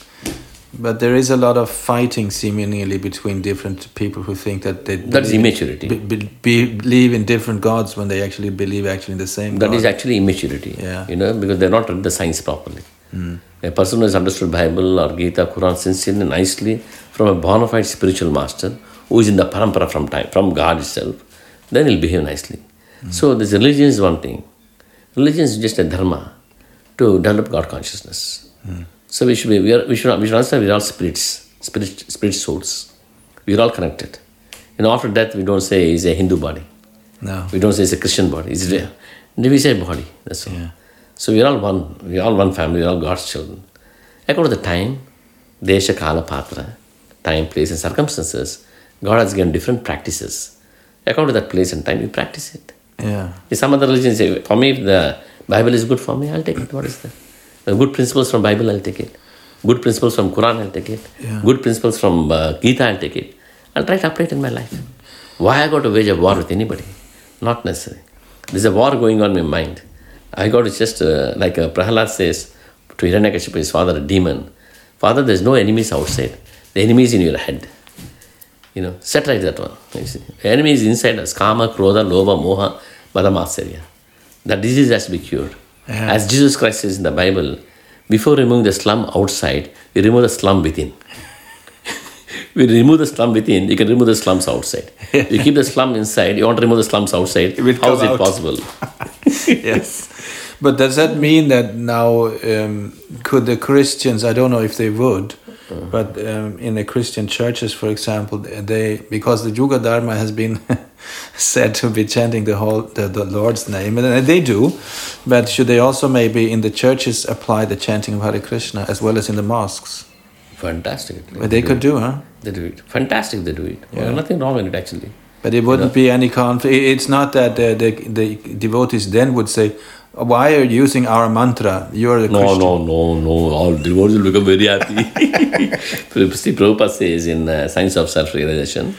But there is a lot of fighting seemingly between different people who think that they That's believe, immaturity. be, be, believe in different gods when they actually believe actually in the same That God. is actually immaturity. Yeah. You know, because they're not read the science properly. Mm. A person who has understood Bible or Gita, Quran sincerely, nicely from a bona fide spiritual master who is in the parampara from time, from God itself, then he'll behave nicely. Mm. So this religion is one thing. Religion is just a dharma to develop God consciousness. Mm. So we should be, we, are, we should we should understand we are all spirits, spirit, spirit souls. We are all connected. You know, after death we don't say it's a Hindu body. No. We don't say it's a Christian body. It's there. We say body. That's all. Yeah. So we are all one. We are all one family. We are all God's children. According to the time, desha, kala, patra, time, place, and circumstances, God has given different practices. According to that place and time, you practice it. Yeah. If some other religion say, for me, if the Bible is good for me, I'll take it. What is that? The good principles from Bible, I'll take it. Good principles from Quran, I'll take it. Yeah. Good principles from uh, Gita, I'll take it. I'll try to apply it in my life. Why I got to wage a war with anybody? Not necessary. There's a war going on in my mind. I got to just, uh, like uh, Prahalad says to Hiranyakashipu, his father, a demon. Father, there's no enemies outside. The enemy is in your head. You know, set right that one. You see. The enemy is inside us. Kama, Krodha, Lobha, Moha, Mada, Matsarya. That disease has to be cured. Yeah. As Jesus Christ says in the Bible, before removing the slum outside, we remove the slum within. We remove the slum within, you can remove the slums outside. You keep the slum inside, you want to remove the slums outside, It will how is come it out. possible? Yes. But does that mean that now um, could the Christians, I don't know if they would, but um, in the Christian churches, for example, they because the Yuga Dharma has been said to be chanting the whole the, the Lord's name, and they do, but should they also maybe in the churches apply the chanting of Hare Krishna as well as in the mosques? Fantastic. But they could do, huh? They do it. Fantastic, they do it. Yeah. Well, nothing wrong in it actually. But it wouldn't be any conflict. It's not that the, the, the devotees then would say, why are you using our mantra? You're the No, Christian. no, no, no. All devotees will become very happy. See, Prabhupada says in uh, Science of Self-Realization,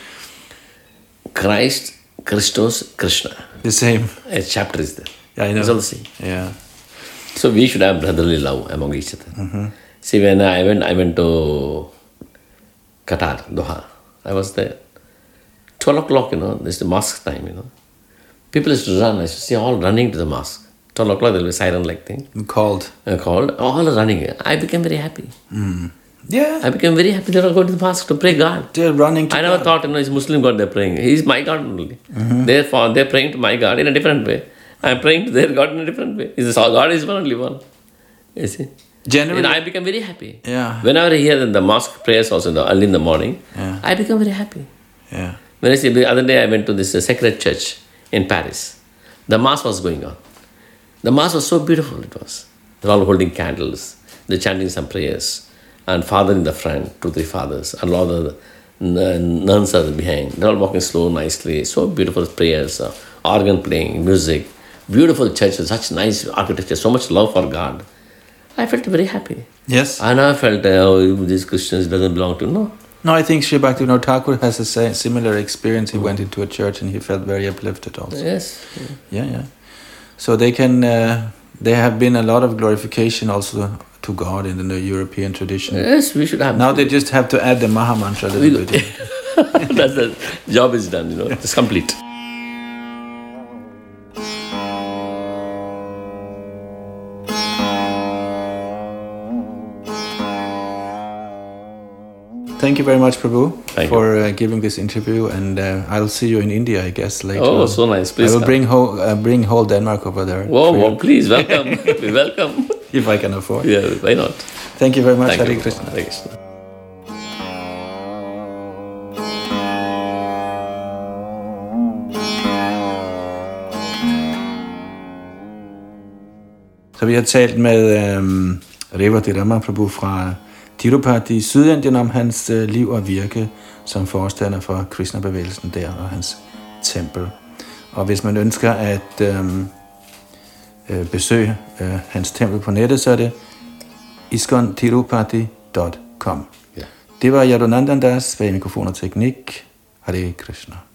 Christ, Christos, Krishna. The same. A chapter is there. Yeah, I know. It's all the same. Yeah. So we should have brotherly love among each other. Mm-hmm. See, when I went, I went to Qatar, Doha. I was there. Twelve o'clock, you know, this is the mosque time, you know. People used to run. I used to see all running to the mosque. Twelve o'clock, there will be siren-like thing. Called. Uh, called. All are running. I became very happy. Mm. Yeah. I became very happy. They all go to the mosque to pray God. They're running to I never God. thought, you know, it's Muslim God they're praying. He's my God only. Mm-hmm. Therefore, they're praying to my God in a different way. I'm praying to their God in a different way. It's God is one only one. You see? Generally. And I become very happy. Yeah. Whenever I hear the mosque prayers also in the, early in the morning, Yeah. I become very happy. Yeah. When I see the other day I went to this uh, sacred church in Paris. The mass was going on. The mass was so beautiful it was. They're all holding candles. They're chanting some prayers. And father in the front, two, three fathers. And all the n- nuns are behind. They're all walking slow, nicely. So beautiful prayers. Uh, organ playing, music. Beautiful church with such nice architecture. So much love for God. I felt very happy. Yes. I never felt, uh, oh, these Christians doesn't belong to. No. No, I think Sri Bhaktivinoda Thakur has a sa- similar experience. He went into a church and he felt very uplifted also. Yes. Yeah, yeah. So they can, uh, there have been a lot of glorification also to God in the European tradition. Yes, we should have. Now they just have to add the Maha Mantra a little bit. That's the job is done, you know. It's complete. Thank you very much, Prabhu, Thank for uh, giving this interview, and uh, I'll see you in India, I guess, later. Oh, on. so nice. Please I will come. bring whole, uh, bring whole Denmark over there. Whoa, for whoa, you, please, welcome. Be welcome. if I can afford. Yeah, why not? Thank you very much, Thank Hare you. Krishna. Hare Krishna. Så vi har talt med øhm, Reverdy Rama Prabhu fra Tirupati i Sydindien om hans øh, liv og virke som forstander for Krishna-bevægelsen der og hans tempel. Og hvis man ønsker at øhm, øh, besøge øh, hans tempel på nettet, så er det iskon tirupati punktum com. Ja. Det var Yadunandan Das ved mikrofon og teknik. Hare Krishna.